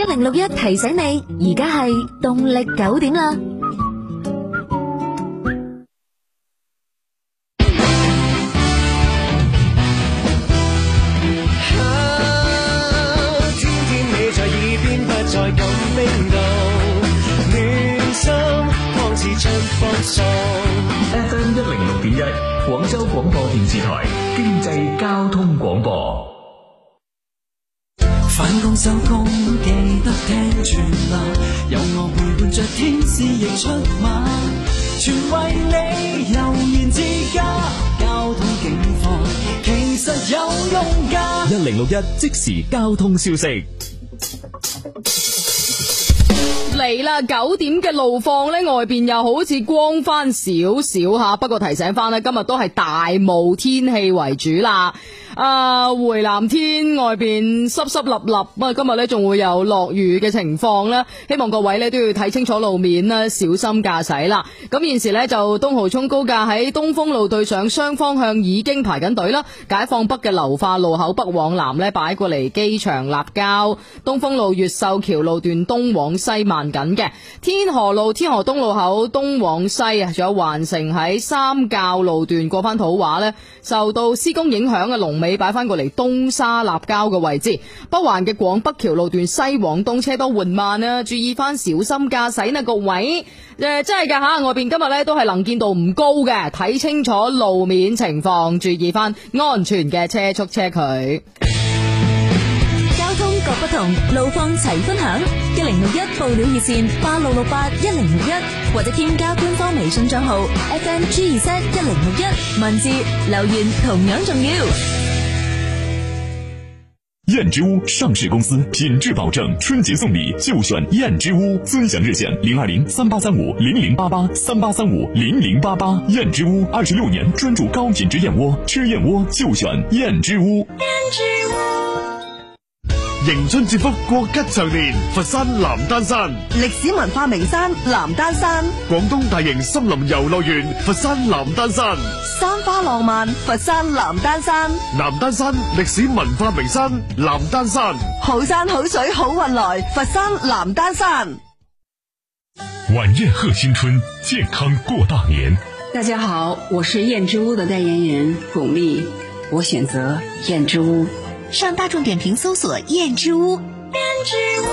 1061提醒你，而家係動力9點啦。 天天你在耳邊，不再咁冰凍，暖心仿似春風送。 FM 106.1，廣州廣播電視台經濟交通廣播。 返工收工記得聽全啦，有我陪伴着天使亦出馬，全為你悠然自家，交通警況其實有用㗎。 1061即時交通消息。 嚟啦，9點嘅路況呢，外邊又好似光翻少少吓，不過提醒翻呢，今日都係大霧天氣為主啦。回南天外邊濕濕立立，今日呢仲會有落雨嘅情況啦，希望各位呢都要睇清楚路面啦，小心駕駛啦。咁現時呢，就東濠涌高架喺東風路對上雙方向已經排緊隊啦，解放北嘅流化路口北往南呢擺過嚟機場立交，東風路越秀橋路段東往西慢緊嘅，天河路天河東路口東往西啊，仲有環城喺三滘路段過翻土話呢，受到施工影響嘅龍尾擺翻過嚟東沙立交嘅位置，北環嘅廣北橋路段西往東車多緩慢啊，注意翻小心駕駛呢個位。真係噶吓，外邊今日呢都係能見度唔高嘅，睇清楚路面情況，注意翻安全嘅車速車距。 交通各不同，路況齊分享。1061報料熱線86681061，或者添加官方微信賬號 FMG2Z1061，文字留言同樣重要。 燕之屋上市公司，品质保证，春节送礼就选燕之屋。尊享热线02038350088，38350088。燕之屋26年专注高品质燕窝，吃燕窝就选燕之屋。 燕之屋。 迎春接福，國吉祥年，佛山南丹山歷史文化名山南丹山， 廣東大型森林遊樂園佛山南丹山， 山花浪漫佛山南丹山， 南丹山歷史文化名山南丹山， 好山好水好運來佛山南丹山。 晚宴賀新春，健康過大年。 大家好，我是燕之屋的代言人巩俐，我選擇燕之屋。 上大眾點評搜索燕之屋。燕之屋。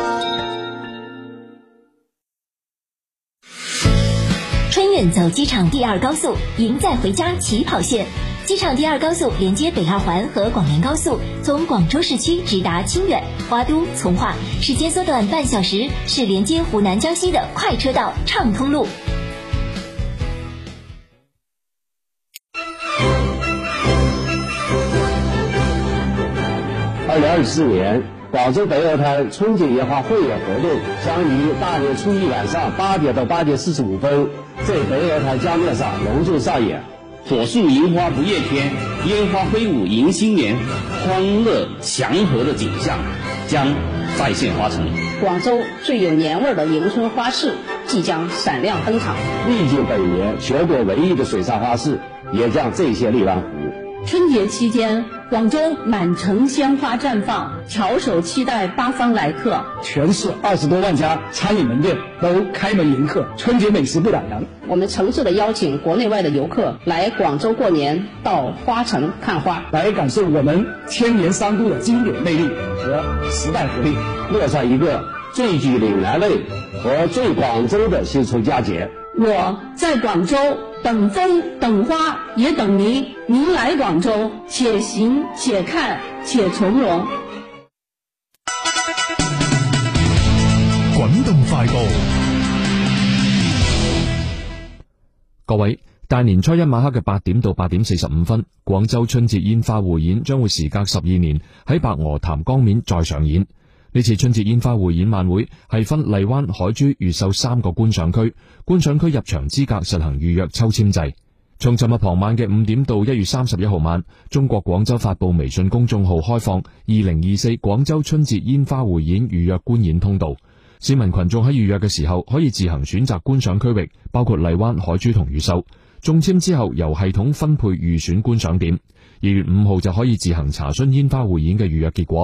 春運走機場第二高速，贏在回家起跑線。機場第二高速連接北二環和廣連高速，從廣州市區直達清遠、花都、從化，時間縮短半小時，是連接湖南江西的快車道暢通路。 2024年廣州北鵝台春節煙花匯演活動將於大年初一晚上8點到8點45分在北鵝台江面上隆重上演。 火樹銀花不夜天，煙花揮舞迎新年，歡樂祥和的景象將再現花城。 廣州最有年味的迎春花市即將閃亮登場。 歷經本年全國唯一的水上花市也將再現荔灣湖。 春節期間，廣州滿城鮮花綻放，翹首期待八方來客。 全市20多萬家餐飲門店都開門迎客，春節美食不打烊。 我們誠摯地邀請國內外的遊客來廣州過年，到花城看花， 來感受我們千年三都的經典魅力和時代活力， 樂上一個最具嶺南味和最廣州的新春佳節。 我在廣州等風等花也等您，您來廣州且行且看且從容。 滾動快報， 各位，大年初一晚黑嘅8點到8點45分，廣州春節煙花匯演將會時隔12年喺白鵝潭江面再上演。呢次春節煙花匯演晚會係分荔灣、海珠、越秀3個觀賞區，觀賞區入場資格實行預約抽籤制。從尋日傍晚嘅5點到1月31號晚，中國廣州發布微信公眾號開放2024廣州春節煙花匯演預約觀演通道。市民群眾喺預約嘅時候可以自行選擇觀賞區域，包括荔灣、海珠同越秀。中籤之後由系統分配預選觀賞點。2月5號就可以自行查詢煙花匯演嘅預約結果。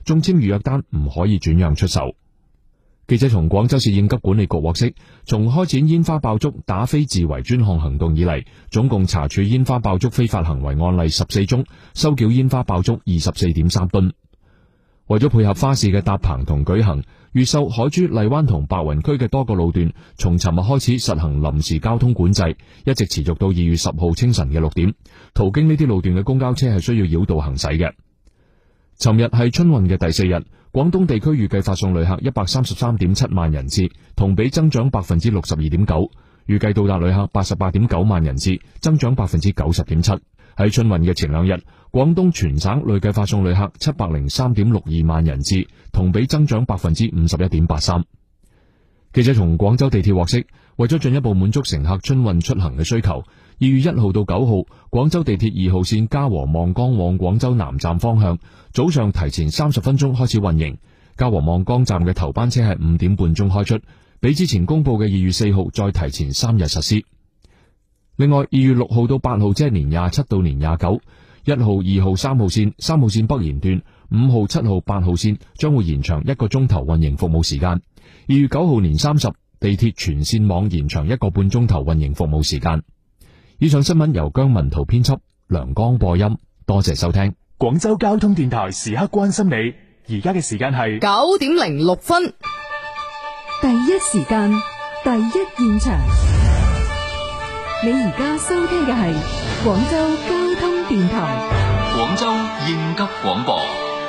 中簽預約單唔可以轉讓出售。記者從廣州市應急管理局獲悉，從開展煙花爆竹打非自圍專項行動以嚟，總共查處煙花爆竹非法行為案例14宗，收繳煙花爆竹 24.3 噸。為咗配合花市嘅搭棚同舉行，越秀、海珠、荔灣同白雲區嘅多個路段，從尋日開始實行臨時交通管制，一直持續到2月10號清晨嘅6點。途經呢啲路段嘅公交車係需要繞道行駛嘅。尋日係春運嘅第4日，廣東地區預計發送旅客 133.7 萬人次，同比增長 62.9%， 預計到達旅客 88.9 萬人次，增長 90.7%。喺春運嘅前2日，廣東全省累計發送旅客 703.62 萬人次，同比增長 51.83%。記者從廣州地鐵獲悉，為咗進一步滿足乘客春運出行嘅需求，2月1號到9號，廣州地鐵2號線嘉禾望崗往廣州南站方向，早上提前30分鐘開始運營。嘉禾望崗站嘅頭班車係5點半鐘開出，比之前公布嘅2月4號再提前3日實施。另外，2月6號到8號，即係年27到年29，1號、2號、3號線、3號線北延段、5號、7號、8號線將會延長1個鐘頭運營服務時間。2月9號年30，地鐵全線網延長1個半鐘頭運營服務時間。以上新聞由姜文圖編輯，梁江播音，多謝收聽。 廣州交通電台時刻關心你，而家嘅時間係 9點06分， 第一時間，第一現場。你而家收聽嘅係廣州交通電台， 廣州應急廣播。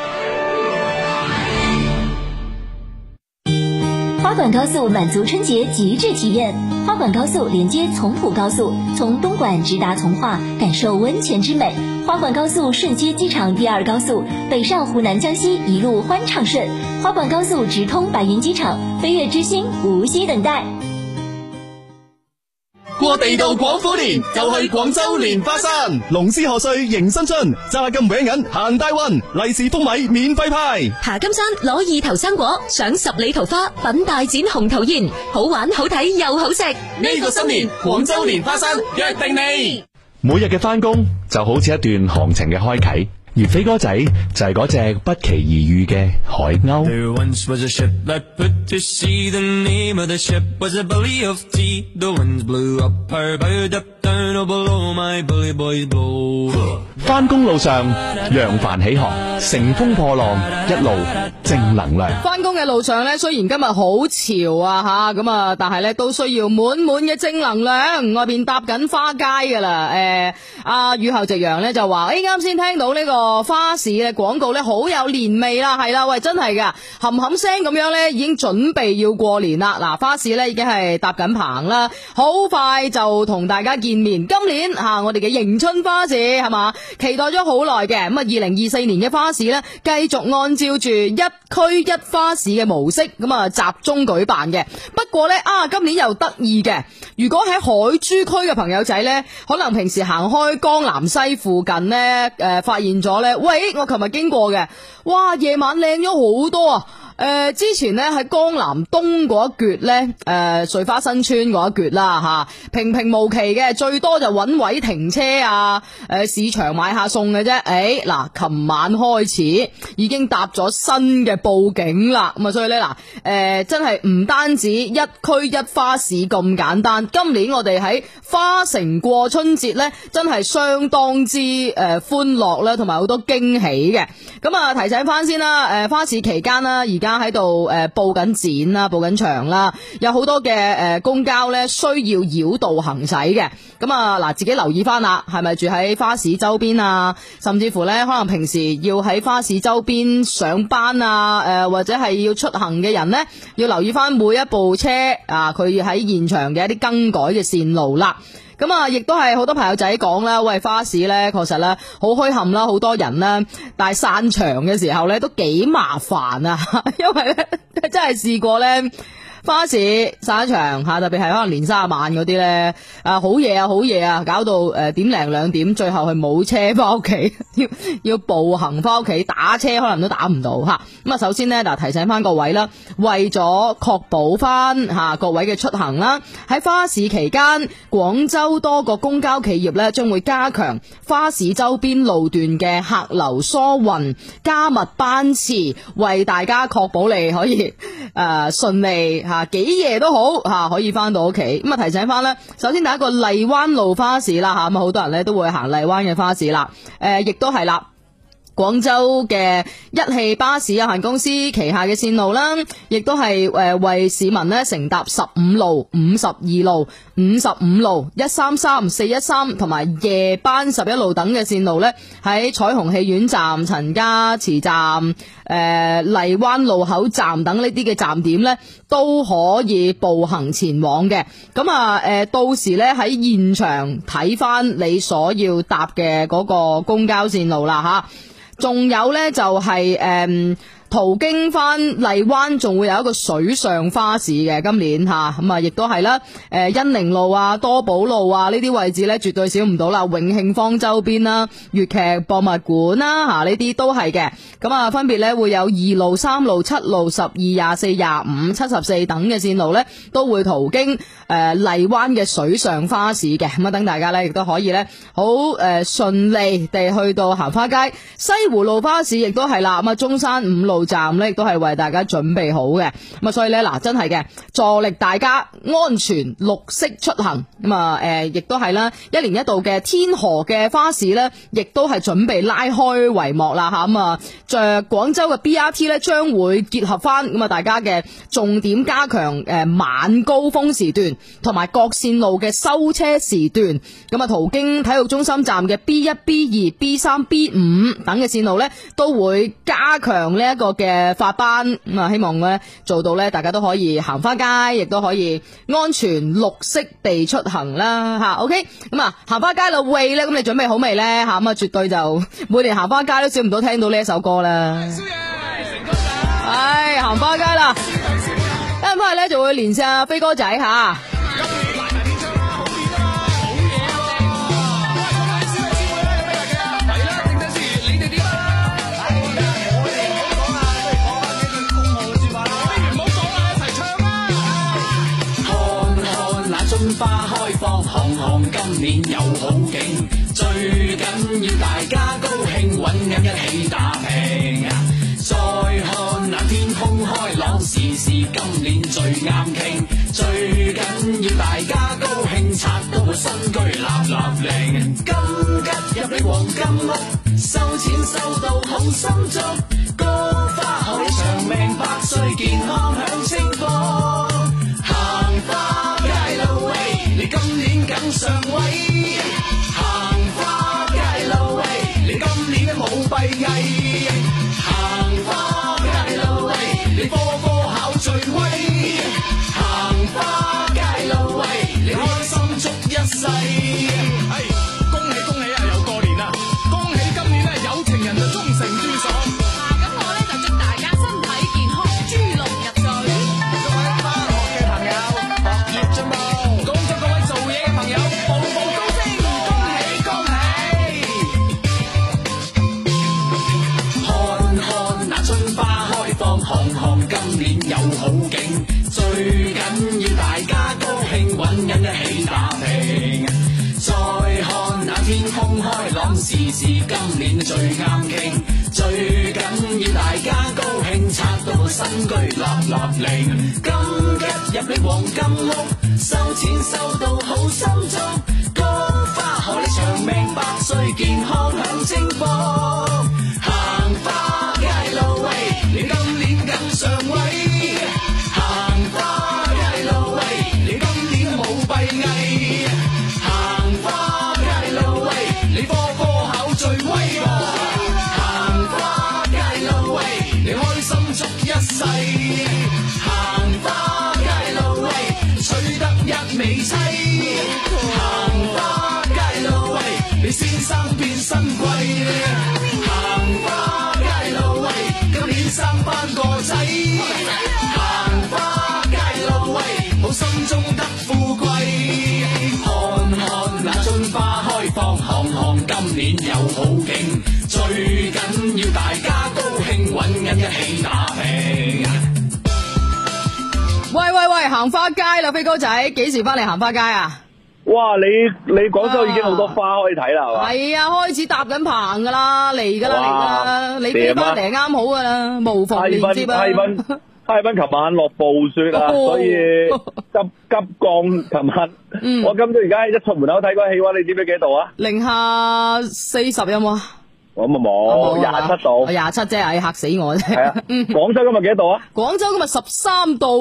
花莞高速滿足春節極致體驗，花莞高速連接從普高速，從東莞直達從化，感受溫泉之美。花莞高速順接機場第2高速，北上湖南江西一路歡暢順。花莞高速直通白雲機場，飛躍之星無需等待。 過地道廣府年就去廣州蓮花山，龍獅賀歲迎新春，揸金搲銀行大運，利是封米免費派。 爬金山攞意頭生果，賞10里桃花，品大展紅桃宴，好玩好睇又好食。 呢個新年廣州蓮花山約定你。每日嘅返工就好似一段行程嘅開啟，而飛哥仔就係嗰隻不期而遇嘅海鷗。There once was a ship that put to sea. The name of the ship was a belly of tea. The winds blew up her bow, up down, oh below my bully boys blow. 返工路上揚帆起航，乘風破浪，一路正能量。 返工嘅路上呢，雖然今日好潮啊吓，咁啊，但係呢都需要滿滿嘅正能量。外邊搭緊花街噶啦，阿雨後夕陽呢就話，啱先聽到呢個花市嘅廣告呢，好有年味啦，係啦，喂，真係噶，冚冚聲咁樣呢，已經準備要過年啦。嗱，花市呢已經係搭緊棚啦，好快就同大家見面。今年我哋嘅迎春花市係嘛？期待咗好耐嘅，咁啊2024年嘅花市呢，繼續按照住一區一花市嘅模式，咁啊集中舉辦嘅。不過呢，今年又得意嘅，如果喺海珠區嘅朋友仔呢，可能平時行開江南西附近呢，發現咗呢，喂，我琴日經過嘅，哇，夜晚靚咗好多啊！之前咧喺江南東嗰一橛咧，穗花新村嗰一橛啦吓，平平無奇嘅，最多就揾位停車啊，市場買下餸嘅啫。嗱，琴晚開始已經搭咗新嘅布景啦，咁啊，所以咧嗱，真係唔單止一區一花市咁簡單，今年我哋喺花城過春節咧，真係相當之歡樂啦，同埋好多驚喜嘅。咁啊，提醒翻先啦，花市期間啦，而家喺度佈緊展啦，佈緊場啦，有好多嘅公交咧需要繞道行駛嘅。咁啊嗱，自己留意翻啦，係咪住喺花市周邊啊？甚至乎咧，可能平時要喺花市周邊上班啊，或者係要出行嘅人咧，要留意翻每一部車啊，佢喺現場嘅一啲更改嘅線路啦。咁啊，亦都係好多朋友仔講啦，喂，花市咧確實咧好墟冚啦，好多人啦，但係散場嘅時候咧都幾麻煩啊，因為咧真係試過咧， 花市散場吓，特別係可能年卅晚嗰啲咧，好夜啊，搞到1點零2點，最後係冇車翻屋企，要步行翻屋企，打車可能都打唔到吓。咁啊，首先呢，提醒翻各位啦，為咗確保翻各位嘅出行啦，喺花市期間，廣州多個公交企業咧將會加強花市周邊路段嘅客流疏運，加密班次，為大家確保你可以順利幾夜都好可以翻到屋企。咁啊，提醒翻咧，首先第一個荔灣路花市啦咁好多人咧都會行荔灣嘅花市啦，亦都係啦。廣州嘅一汽巴士有限公司旗下嘅線路啦，亦都係為市民咧乘搭15路、52路、55路、133、413同埋夜班11路等嘅線路咧，喺彩虹戲院站、陳家祠站、荔灣路口站等呢啲嘅站點咧，都可以步行前往嘅。咁到時咧喺現場睇翻你所要搭嘅嗰個公交線路啦吓。仲有呢，就係途經翻荔灣，仲會有一個水上花市嘅，今年咁啊，亦都係啦。恩寧路啊、多寶路啊呢啲位置呢，絕對少唔到啦。永慶坊周邊啦、粵劇博物館啦，呢啲都係嘅。咁啊，分別呢會有2路、3路、7路、12、24、25、74等嘅線路呢，都會途經荔灣嘅水上花市嘅。咁啊，等大家呢亦都可以呢好順利地去到行花街。西湖路花市亦都係啦。咁啊，中山5路站咧亦都係為大家準備好嘅，咁啊所以咧真係嘅，助力大家安全綠色出行。咁啊亦都係啦，一年一度嘅天河嘅花市咧，亦都係準備拉開帷幕啦吓。咁啊，廣州嘅 BRT 咧將會結合翻咁啊，大家嘅重點加強晚高峰時段同埋各線路嘅收車時段。咁啊，途經體育中心站嘅 B1、B2、B3、B5 等嘅線路咧，都會加強呢一個嘅發班。咁啊，希望咧做到咧，大家都可以行花街，亦都可以安全綠色地出行啦吓。OK， 咁啊，行花街啦喂咧，咁你準備好未咧吓？咁啊，絕對就每年行花街都少唔到聽到呢一首歌啦。係行花街啦，一陣翻嚟咧就會連線阿飛哥仔吓。 花開放，行行今年有好景，最緊要大家高興，搵緊一起打拼。再看那天空開朗，時時今年最啱傾，最緊要大家高興，拆到個新居立立令。金吉入你黃金屋，收錢收到好心足，菊花可以長命百歲，健康享清福。行花你今年更上位，行花街路喂，你今年都冇閉翳，行花街路喂，你科科考最威，行花街路喂，你開心足一世。恭喜恭喜啊，又過年啦！恭喜今年有情人就終成眷屬。咁我咧就祝大家身體健康，豬龍入水。各位返學嘅朋友，學業進步。有好景，最緊要大家高興，搵人一起打拼。再看那天空開朗，時時今年最啱傾，最緊要大家高興，拆到個新居立立令。金吉入你黃金屋，收錢收到好心足，菊花可你長命百歲，健康享清福。行花街路喂，你今年更上位。行花街路喂，取得一美妻。行花街路喂，你先生變新貴。行花街路喂，今年生翻個仔。行花街路年又好景，最緊要大家高興，揾緊一起打拼。 喂，行花街啦，飛哥仔，幾時翻嚟行花街啊？ 哇！你廣州已經好多花可以睇啦，係嘛？ 係啊，開始搭緊棚噶啦，嚟噶啦，你飛翻嚟啱好噶啦，無縫連接啊！ 哈爾濱琴晚落暴雪啊，所以急降。琴晚我今朝而家一出門口睇嗰氣溫，你知唔知幾度啊？ 零下40有冇啊？ 我咪冇27度 ，27啫，唉嚇死我啫！ 係啊，廣州今日幾多度啊？ 廣州今日13到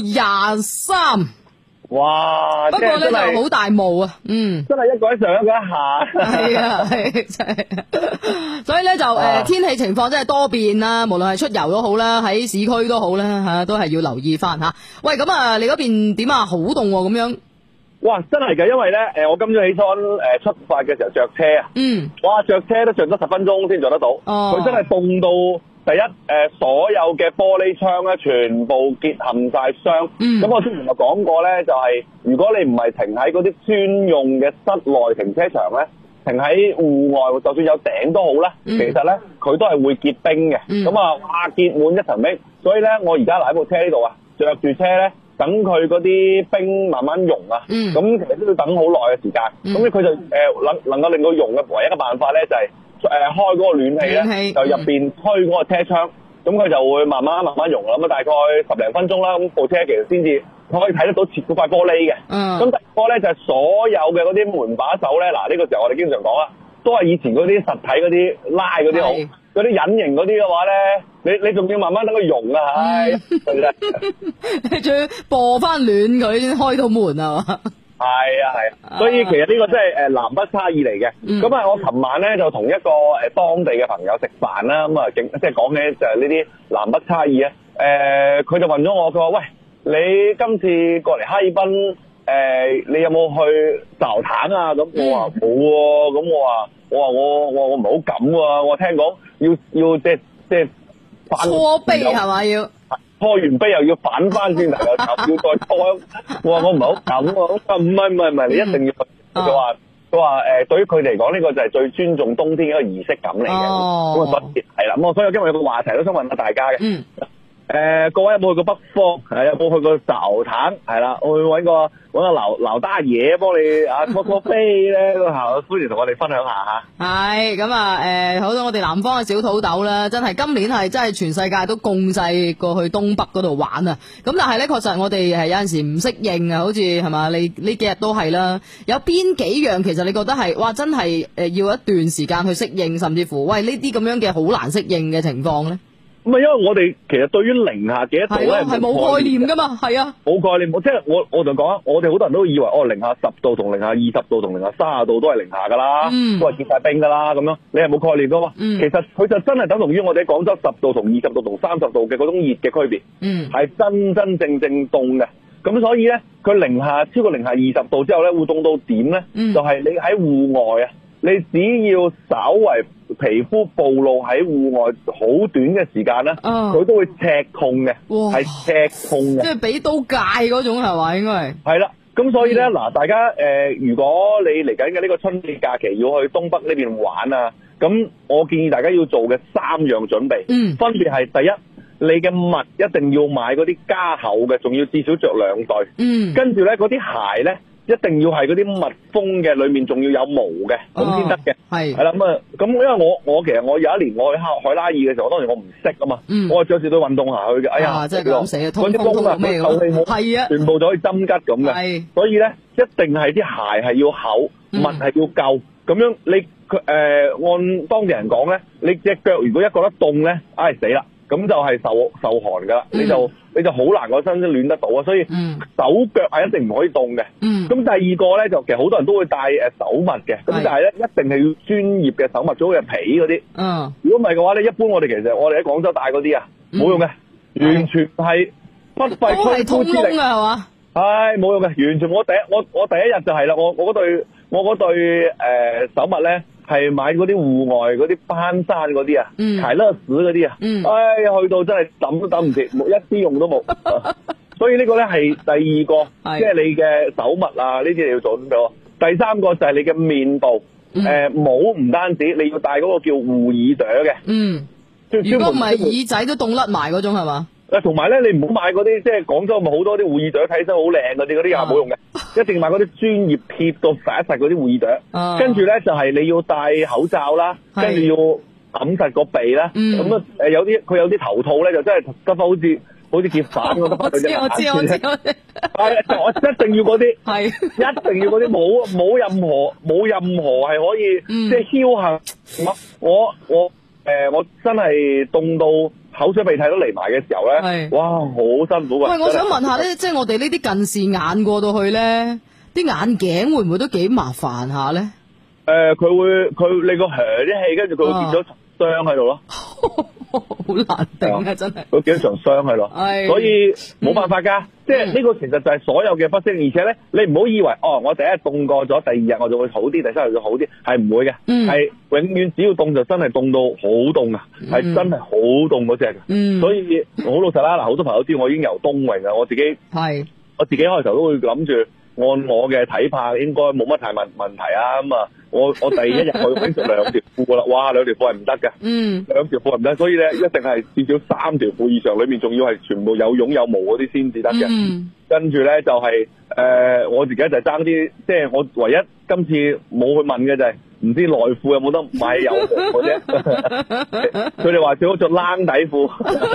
23。 哇！ 不過咧就好大霧啊，真係一個喺上一個喺下。 係啊，係真係。所以咧就天氣情況真係多變啦，無論係出遊都好啦，喺市區都好啦吓，都係要留意翻吓。喂，咁啊，你嗰邊點啊？好凍咁樣。 哇，真係㗎，因為咧我今朝起身出發嘅時候着車啊，哇，着車都着咗10分鐘先着得到，佢真係凍到。第一，所有嘅玻璃窗咧，全部結冚晒霜。咁我之前就講過咧，就係如果你唔係停喺嗰啲專用嘅室內停車場咧，停喺戶外，就算有頂都好啦，其實咧佢都係會結冰嘅。咁哇，結滿一層冰，所以咧我而家喺部車呢度啊，着住車咧，等佢嗰啲冰慢慢溶啊。咁其實都要等好耐嘅時間。咁佢就能夠令到溶嘅唯一嘅辦法咧，就係開嗰個暖氣咧，就入邊推嗰個車窗，咁佢就會慢慢溶啦。咁大概10零分鐘啦，咁部車其實先至可以睇得到切嗰塊玻璃嘅。咁第二個咧就係所有嘅嗰啲門把手咧，嗱呢個時候我哋經常講啦，都係以前嗰啲實體嗰啲拉嗰啲好，嗰啲隱形嗰啲嘅話咧，你仲要慢慢等佢溶啊，唉， 你仲要播翻暖佢先開到門啊嘛。 係啊，所以其實呢個真係南北差異嚟嘅。咁我琴晚咧就同一個當地嘅朋友食飯啦，咁即係講起就係呢啲南北差異啊。佢就問咗我，佢話：喂，你今次過嚟哈爾濱，你有冇去澡壇啊？咁我話冇喎。咁我唔係好敢喎。我聽講要即係搓杯係嘛要？ 搓完杯又要反翻轉頭，又要再搓。我唔係好敢喎。唔係，你一定要。佢話對於佢嚟講，呢個就係最尊重冬天嘅一個儀式感嚟嘅。咁所以係啦。咁所以今日有個話題都想問下大家嘅。各位有冇去過北方？有冇去過澡壇？係啦，我會揾個劉大爺幫你搓搓飛咧，歡迎同我哋分享下嚇。係咁啊，好多我哋南方嘅小土豆啦，真係今年係真係全世界都共濟過去東北嗰度玩啊！咁但係咧，確實我哋係有陣時唔適應啊，好似係嘛？你呢幾日都係啦。有邊幾樣其實你覺得係哇，真係要一段時間去適應，甚至乎喂呢啲咁樣嘅好難適應嘅情況咧？ 咁因為我哋其實對於零下幾多度咧係冇概念噶嘛，係啊， 冇概念。即係我就講啊，我哋好多人都以為零下10度同零下20度同零下30度都係零下噶啦，都係結晒冰噶啦咁樣，你係冇概念噶嘛。其實佢就真係等同於我哋廣州10度同20度同30度嘅嗰種熱嘅區別，係真真正正凍嘅。咁所以咧，佢超過零下20度之後咧，會凍到點咧？就係你喺戶外啊，你只要稍為皮膚暴露喺戶外好短嘅時間咧，佢都會赤痛嘅，係赤痛嘅， 即係俾刀戒嗰種係嘛？應該係啦。咁所以咧，嗱，大家如果你嚟緊嘅呢個春節假期要去東北呢邊玩啊，咁我建議大家要做嘅3樣準備，分別係第一，你嘅襪一定要買嗰啲加厚嘅，仲要至少着2對，跟住咧嗰啲鞋咧，一定要係嗰啲密封嘅，裏面仲要有毛嘅，咁先得嘅。係啦，咁因為我其實我有一年我去海拉爾嘅時候，當時我唔識啊嘛，我係着住對運動鞋去嘅。哎呀， 真係咁死啊！ 嗰啲窿啊，佢透氣冇，係啊，全部就可以針吉咁嘅。所以咧，一定係啲鞋係要厚，襪係要夠。咁樣你按當地人講咧，你隻腳如果一覺得凍咧，唉死啦！咁就係受寒噶啦，你就好難個身暖得到啊，所以手腳係一定唔可以凍嘅。咁第二個咧就其實好多人都會戴手襪嘅，咁但係咧一定係要專業嘅手襪，最好係皮嗰啲。如果唔係嘅話咧，一般我哋其實我哋喺廣州戴嗰啲啊，冇用嘅，完全係不費吹灰之力啊，係嘛？係冇用嘅，完全我第一日就係啦，我嗰對手襪咧。係買嗰啲戶外嗰啲攀山嗰啲啊，柴勒士嗰啲啊，去到真係抌都抌唔切，一啲用都冇。所以呢個咧係第二個，即係你嘅手襪啊，呢啲你要做咁多。第三個就係你嘅面部， 帽唔單止，你要戴嗰個叫護耳朵嘅。 如果唔係耳仔都凍甩埋嗰種係嘛？ 同埋咧，你唔好買嗰啲，即係廣州咪好多啲護耳朵睇起身好靚嗰啲又冇用嘅，一定要買嗰啲專業貼到實一實嗰啲護耳朵。跟住咧就係你要戴口罩啦，跟住要揞實個鼻啦。咁有啲佢有啲頭套咧，就真係得翻好似結反咁。 我知。係， 我一定要嗰啲，係一定要嗰啲冇任何係可以即係僥倖。我真係凍到口水鼻涕都嚟埋嘅時候咧，哇，好辛苦啊！ 喂，我想問下咧，即係我哋呢啲近視眼過到去咧，啲眼鏡會唔會都幾麻煩下咧？ 佢你個啲氣，跟住佢會變咗傷喺度咯。 好難頂啊！真係佢幾多場傷喺度，所以冇辦法㗎。即係呢個其實就係所有嘅不適，而且咧，你唔好以為我第一日凍過咗，第二日我就會好啲，第三日就好啲，係唔會嘅。係永遠只要凍就真係凍到好凍啊，係真係好凍嗰隻嘅。所以好老實啦，嗱，好多朋友知我已經游冬泳啦，我自己開頭都會諗住按我嘅睇法應該冇乜太問題啊。咁啊，我第一日我已經着2條褲噶啦，哇，2條褲係唔得嘅，2條褲係唔得，所以咧一定係至少3條褲以上，裏面仲要係全部有絨有毛嗰啲先至得嘅。跟住咧就係我自己就係爭啲，即係我唯一今次冇去問嘅就係唔知內褲有冇得買有毛嘅啫。佢哋話最好着冷底褲。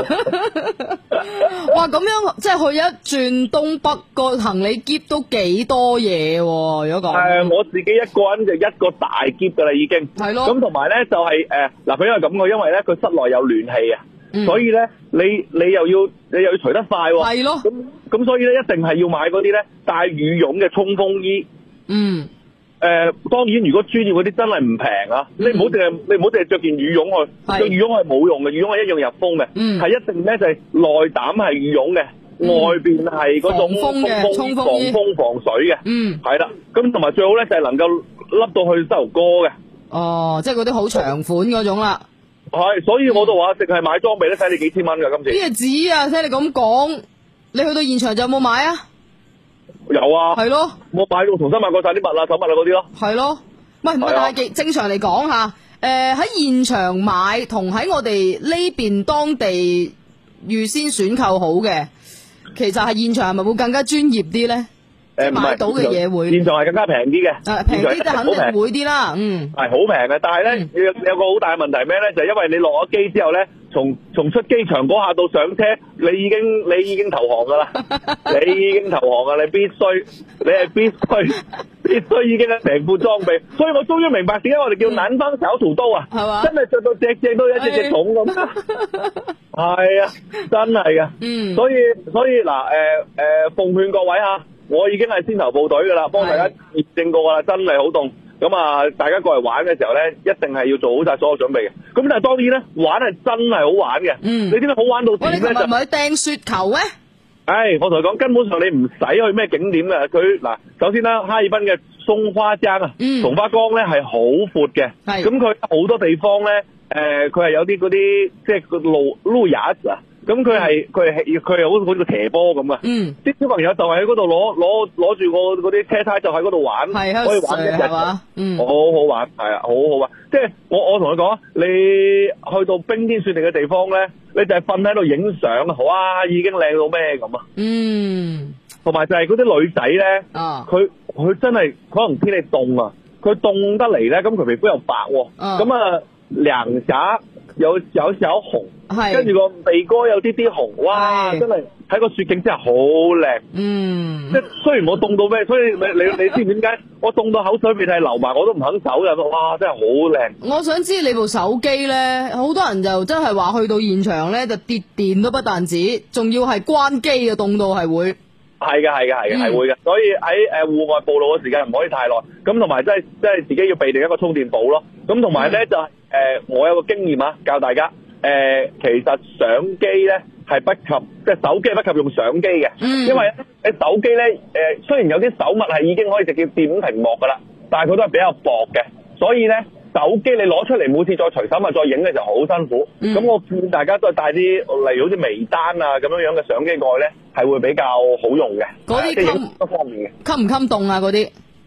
哇，咁樣即係去一轉東北個行李篋都幾多嘢喎？如果講我自己一個人就一個大篋噶啦，已經係咯。咁同埋咧就係嗱，佢因為咁嘅，因為咧佢室內有暖氣啊，所以咧你又要除得快喎。係咯。咁所以咧一定係要買嗰啲咧帶羽絨嘅衝鋒衣。當然如果專業嗰啲真係唔平啊，你唔好淨係着件羽絨去，着羽絨係冇用嘅，羽絨係一樣入風嘅，係一定咧就係內膽係羽絨嘅，外邊係嗰種防風防水嘅，係啦。咁同埋最好咧就係能夠笠到去膝頭哥嘅。 哦，即係嗰啲好長款嗰種啦。 係，所以我都話淨係買裝備咧，使你幾千蚊噶今次。 咩紙啊？聽你咁講，你去到現場就有冇買啊？ 有啊， 係咯， 我買到重新買過晒啲襪啊、手襪啊嗰啲咯。 係咯，唔係但係正常嚟講吓，喺現場買同喺我哋呢邊當地預先選購好嘅，其實係現場係咪會更加專業啲咧？買到嘅嘢會現場係更加平啲嘅， 平啲就肯定會啲啦。 係好平嘅，但係咧有個好大嘅問題咩咧？就係因為你落咗機之後咧，從出機場嗰下到上車，你已經投降噶啦，你已經投降噶，你係必須已經係成副裝備。所以我終於明白點解我哋叫南方小屠刀啊，係嘛？真係着到隻都一隻重咁。係啊，真係噶。所以嗱，奉勸各位吓。我已經係先頭部隊噶啦，幫大家驗證過噶啦，真係好凍。咁啊，大家過嚟玩嘅時候咧，一定係要做好晒所有準備嘅。咁但係當然咧，玩係真係好玩嘅。你知唔知好玩到點咧？ 就咪去掟雪球咩？ 我同你講，根本上你唔使去咩景點嘅。佢嗱，首先啦，哈爾濱嘅松花江啊，松花江咧係好闊嘅。咁佢好多地方咧，佢係有啲嗰啲即係個路也啊。咁佢係好似個斜坡咁啊！啲小朋友就係喺嗰度攞住嗰啲車胎就喺嗰度玩，可以玩一日，好好玩，係啊，好好玩。即係我同你講，你去到冰天雪地嘅地方咧，你就係瞓喺度影相，哇，已經靚到咩咁啊！同埋就係嗰啲女仔咧，佢真係可能天氣凍啊，佢凍得嚟咧，咁佢皮膚又白，咁啊涼霞有小紅。跟住個鼻哥有啲紅，哇！真係喺個雪景之下好靚。即係雖然我凍到咩，所以你知唔知點解我凍到口水鼻涕流埋，我都唔肯走嘅。哇！真係好靚。我想知你部手機咧，好多人就真係話去到現場咧就跌電都不但止，仲要係關機嘅，凍到係會。 係嘅，會嘅。所以喺戶外暴露嘅時間唔可以太耐。咁同埋即係自己要備定一個充電寶咯。咁同埋咧就係我有個經驗啊，教大家。其實相機咧係不及，即係手機係不及用相機嘅，因為你手機咧雖然有啲手物係已經可以直接掂屏幕噶啦，但係佢都係比較薄嘅，所以咧手機你攞出嚟每次再隨手物再影嘅就好辛苦。咁我建議大家都係帶啲例如好似微單啊咁樣嘅相機過去咧，係會比較好用嘅。 嗰啲即係影多方面嘅。 襟唔襟凍啊？嗰啲？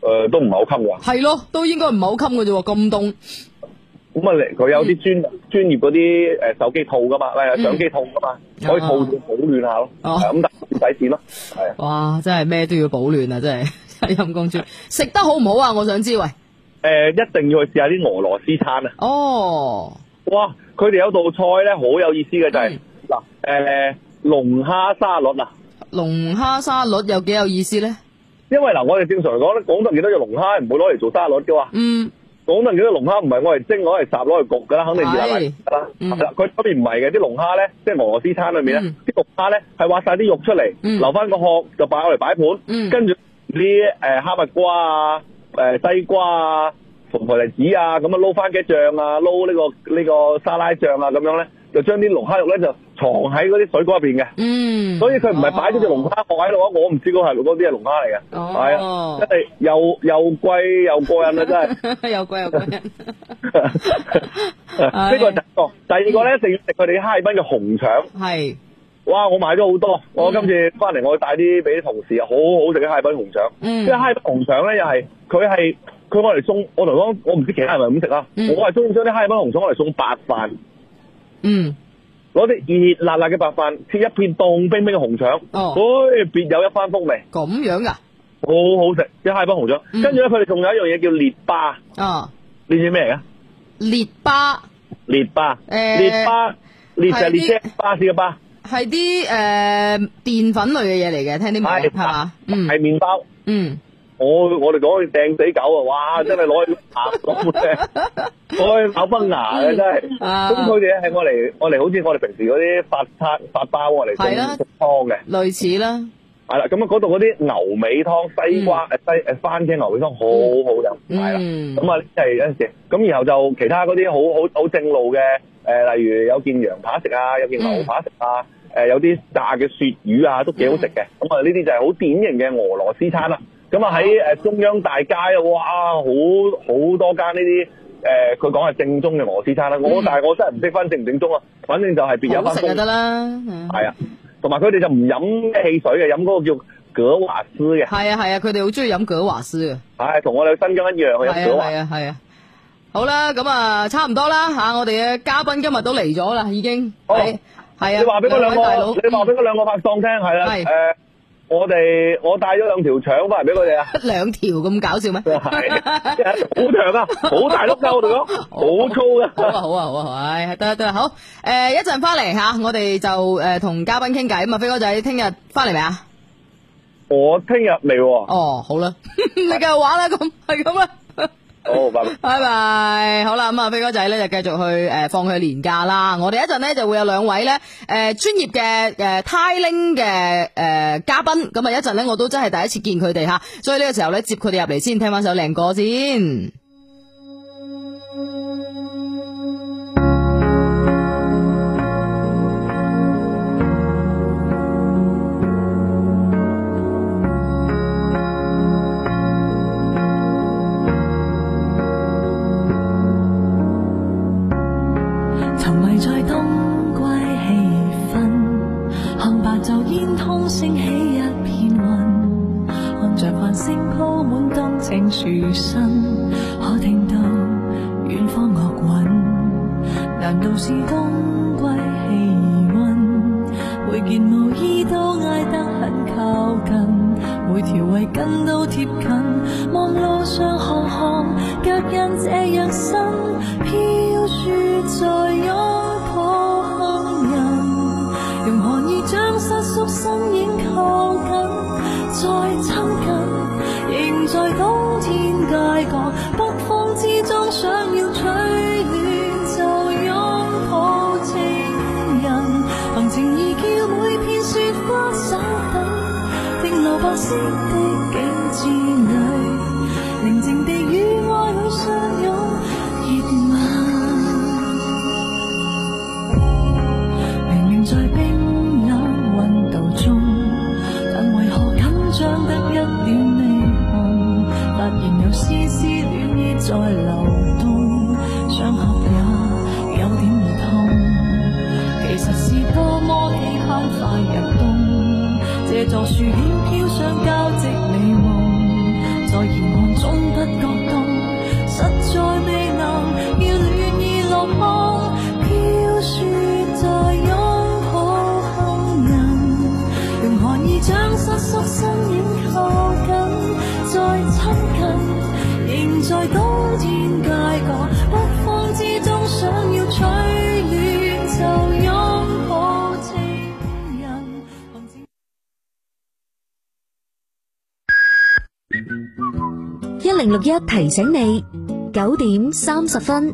都唔係好襟㗎。 係咯，都應該唔係好襟嘅啫喎，咁凍。 咁啊，佢有啲專業嗰啲手機套噶嘛，相機套噶嘛，可以套住保暖下咯。咁但唔使錢咯。係啊。哇！ 真係咩都要保暖啊！真係陰公豬。食得好唔好啊？我想知喂。 一定要去試下啲俄羅斯餐啊！ 哦。 哇！佢哋有道菜咧，好有意思嘅就係嗱，龍蝦沙律啊。 龍蝦沙律有幾有意思咧？ 因為嗱，我哋正常嚟講咧，廣東見到隻龍蝦唔會攞嚟做沙律嘅嘛。廣東見到龍蝦唔係攞嚟蒸，攞嚟烚，攞嚟焗噶啦，肯定熱辣辣噶啦。係啦，佢嗰邊唔係嘅，啲龍蝦咧，即係俄羅斯餐裏面咧，啲龍蝦咧係挖晒啲肉出嚟，留翻個殼就擺嚟擺盤，跟住啲哈密瓜啊、西瓜啊、紅台梨子啊，咁啊撈番茄醬啊，撈呢個沙拉醬啊，咁樣咧，就將啲龍蝦肉咧就藏喺嗰啲水果入邊嘅。所以佢唔係擺咗隻龍蝦殼喺度啊，我唔知嗰啲係龍蝦嚟嘅。係啊，真係又貴又過癮啊，真係。 又貴又過癮。 呢個第一個，第二個咧一定要食佢哋哈爾濱嘅紅腸。係。哇！我買咗好多，我今次翻嚟我帶啲俾啲同事啊，好好食嘅哈爾濱紅腸。因為哈爾濱紅腸咧又係佢我嚟送，我同你講，我唔知其他人係咪咁食啊。我係中意將啲哈爾濱紅腸我嚟送白飯。攞啲熱辣辣嘅白飯，切一片凍冰冰嘅紅腸，別有一番風味。 咁樣噶， 好好食，啲哈爾濱紅腸。跟住咧，佢哋仲有一樣嘢叫列巴。你知咩嚟噶？ 列巴。 列巴就列車巴士嘅巴。 係啲澱粉類嘅嘢嚟嘅，聽啲名係嘛？ 係麵包。我哋講掟死狗啊！哇，真係攞去咬崩牙嘅真係。咁佢哋係我嚟好似我哋平時嗰啲發包我嚟做湯嘅，類似啦。係啦，咁啊嗰度嗰啲牛尾湯、西瓜番茄牛尾湯好好飲，係啦。咁啊即係有陣時，咁然後就其他嗰啲好正路嘅例如有件羊扒食啊，有件牛扒食啊，有啲炸嘅鱈魚啊，都幾好食嘅。咁啊呢啲就係好典型嘅俄羅斯餐啦。咁啊喺中央大街啊，哇，好多間呢啲佢講係正宗嘅俄羅斯餐啦。但係我真係唔識分正唔正宗啊。反正就係別有番風。好食就得啦。係啊，同埋佢哋就唔飲汽水嘅，飲嗰個叫葛瓦斯嘅。係啊，佢哋好中意飲葛瓦斯嘅。係，同我哋新疆一樣嘅飲葛瓦。係啊。好啦，咁啊差唔多啦吓，我哋嘅嘉賓今日都嚟咗啦，已經。係啊。你話俾嗰兩個拍檔聽係啦。我帶咗2條腸翻嚟俾佢哋啊！2條咁搞笑咩？係，好長啊，好大碌噶，我哋講，好粗噶。好啊，唉，得好。一陣翻嚟吓，我哋就同嘉賓傾偈啊嘛，飛哥仔，聽日翻嚟未啊？我聽日未。哦，好啦，你繼續玩啦，咁係咁啦。好，拜拜。拜拜。好啦，咁啊，飛哥仔咧就繼續去放佢年假啦。我哋一陣咧就會有2位咧專業嘅Thailing 嘅嘉賓。咁啊，一陣咧我都真係第一次見佢哋吓，所以呢個時候咧接佢哋入嚟先，聽翻首靚歌先。 升起一片雲，看着繁星鋪滿燈青樹身，可聽到遠方樂韻。難道是冬季氣溫？每件毛衣都挨得很靠近，每條圍巾都貼近。望路上行行腳印這樣深，飄雪在擁抱行人。用寒意將瑟縮身影靠緊，再親近，仍在冬天街角，北風之中想要取暖就擁抱情人，憑情意叫每片雪花稍等，停留白色的景致裏，寧靜地與愛侶相擁熱吻。明明在冰冷溫度中，但為何緊張得一點未紅？發現有絲絲暖意在流動，傷口也有點兒痛。其實是多麼期盼快入冬，這座樹輕飄上交織美夢，在沿岸總不覺凍，實在未能要暖意落空，飄雪在擁抱後人，用寒意將瑟縮身影靠緊，再親近，仍在冬天街角北方之中，想要取暖就擁抱情人。 1061提醒你9點30分。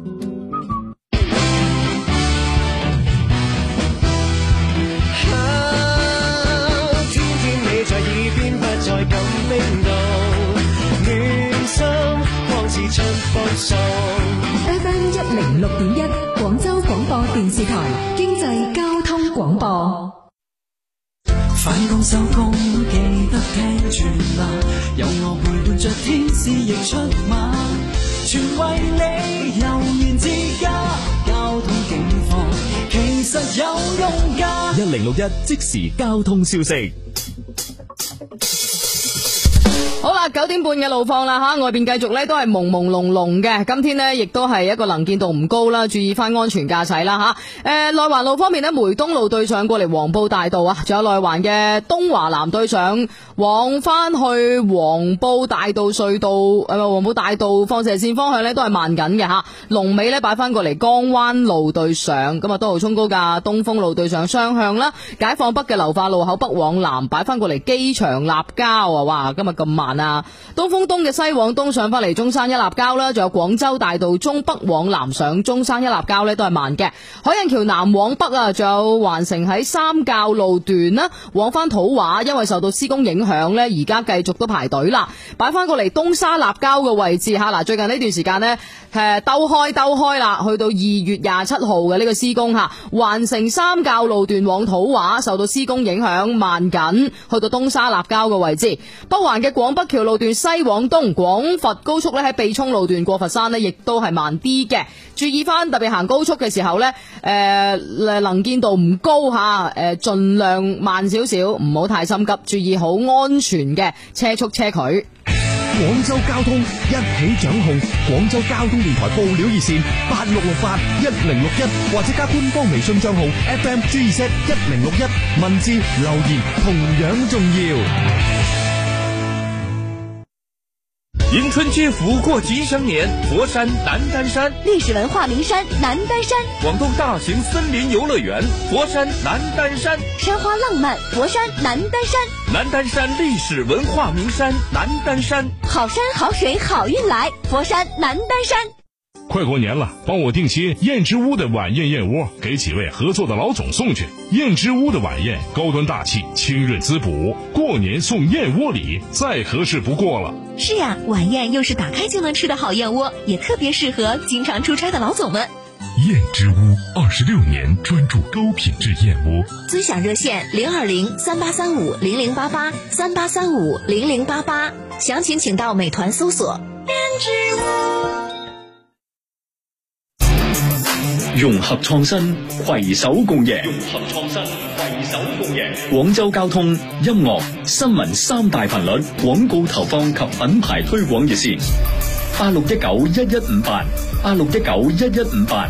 天天你在耳邊，不再感冰凍，暖心光似春風送。 FM 106.1廣州廣播電視台經濟交通廣播。 返工收工記得聽全啦，有我陪伴着天使亦出馬，全為你悠然自家，交通警況其實有用㗎。 1061即時交通消息。 好啦，9點半嘅路況啦吓，外邊繼續咧都係朦朦朧朧嘅。今天呢亦都係一個能見度唔高啦，注意翻安全駕駛啦吓。內環路方面呢，梅東路對上過嚟黃埔大道啊，仲有內環嘅東華南對上往翻去黃埔大道隧道黃埔大道放射線方向呢都係慢緊嘅吓。龍尾呢擺翻過嚟江灣路對上，咁啊都號衝高架東風路對上雙向啦。解放北嘅流化路口北往南擺翻過嚟機場立交啊，哇今日咁慢啊！東風東嘅西往東上翻嚟中山一立交啦，仲有廣州大道中北往南上中山一立交呢都係慢嘅。海印橋南往北啊，仲有環城喺三滘路段啦，往翻土華，因為受到施工影響呢，而家繼續都排隊啦。擺翻過嚟東沙立交嘅位置吓，嗱最近呢段時間呢，兜開啦，去到2月27號嘅呢個施工吓，環城三滘路段往土華受到施工影響慢緊，去到東沙立交嘅位置。北環嘅廣北橋路段西往東，廣佛高速咧喺秘涌路段過佛山呢亦都係慢啲嘅。注意翻，特別行高速嘅時候呢，能見度唔高吓，盡量慢少少，唔好太心急，注意好安全嘅車速車距。 廣州交通一起掌控，廣州交通電台報料熱線86681061，或者加官方微信賬號 FMGZ1061，文字留言同樣重要。 迎春接福过吉祥年，佛山南丹山历史文化名山南丹山， 广东大型森林游乐园佛山南丹山， 山花浪漫佛山南丹山， 南丹山历史文化名山南丹山， 好山好水好运来佛山南丹山。 快过年了，帮我订些燕之屋的晚宴燕窝，给几位合作的老总送去。燕之屋的晚宴高端大气，清润滋补，过年送燕窝礼，再合适不过了。 是呀，晚宴又是打开就能吃的好燕窝，也特别适合经常出差的老总们。 燕之屋26年专注高品质燕窝， 尊享热线0208350088，38350088，详情请到美团搜索燕之屋。 融合創新，攜手共贏。廣州交通、音樂、新聞三大頻率廣告投放及品牌推廣熱線：86191158，86191158。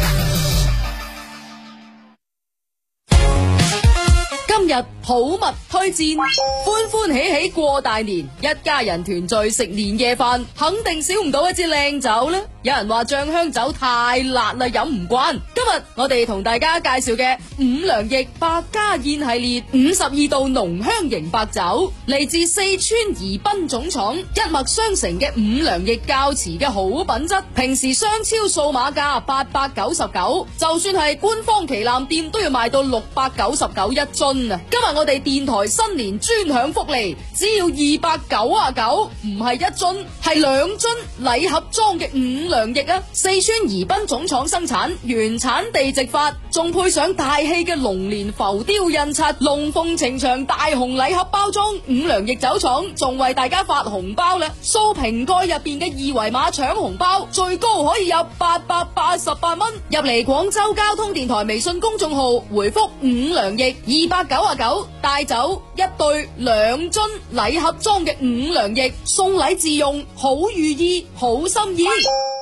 今日好物推薦，歡歡喜喜過大年，一家人團聚食年夜飯，肯定少唔到一支靚酒啦。有人話醬香酒太辣啦，飲唔慣。今日我哋同大家介紹嘅五糧液百家宴系列52度濃香型白酒，嚟自四川宜賓總廠，一脈相承嘅五糧液窖瓷嘅好品質，平時商超數碼價899，就算係官方旗艦店都要賣到699一樽啊！今日我哋電台新年專享福利，只要299，唔係一樽，係2樽禮盒裝嘅五糧液啊！四川宜賓總廠生產，原產地直發，仲配上大氣嘅龍年浮雕印刷，龍鳳呈祥大紅禮盒包裝。五糧液酒廠仲為大家發紅包啦！掃瓶蓋入邊嘅二維碼搶紅包，最高可以有888蚊。入嚟廣州交通電台微信公眾號回覆五糧液299， 帶走1對2樽禮盒裝嘅5糧液，送禮自用，好寓意，好心意。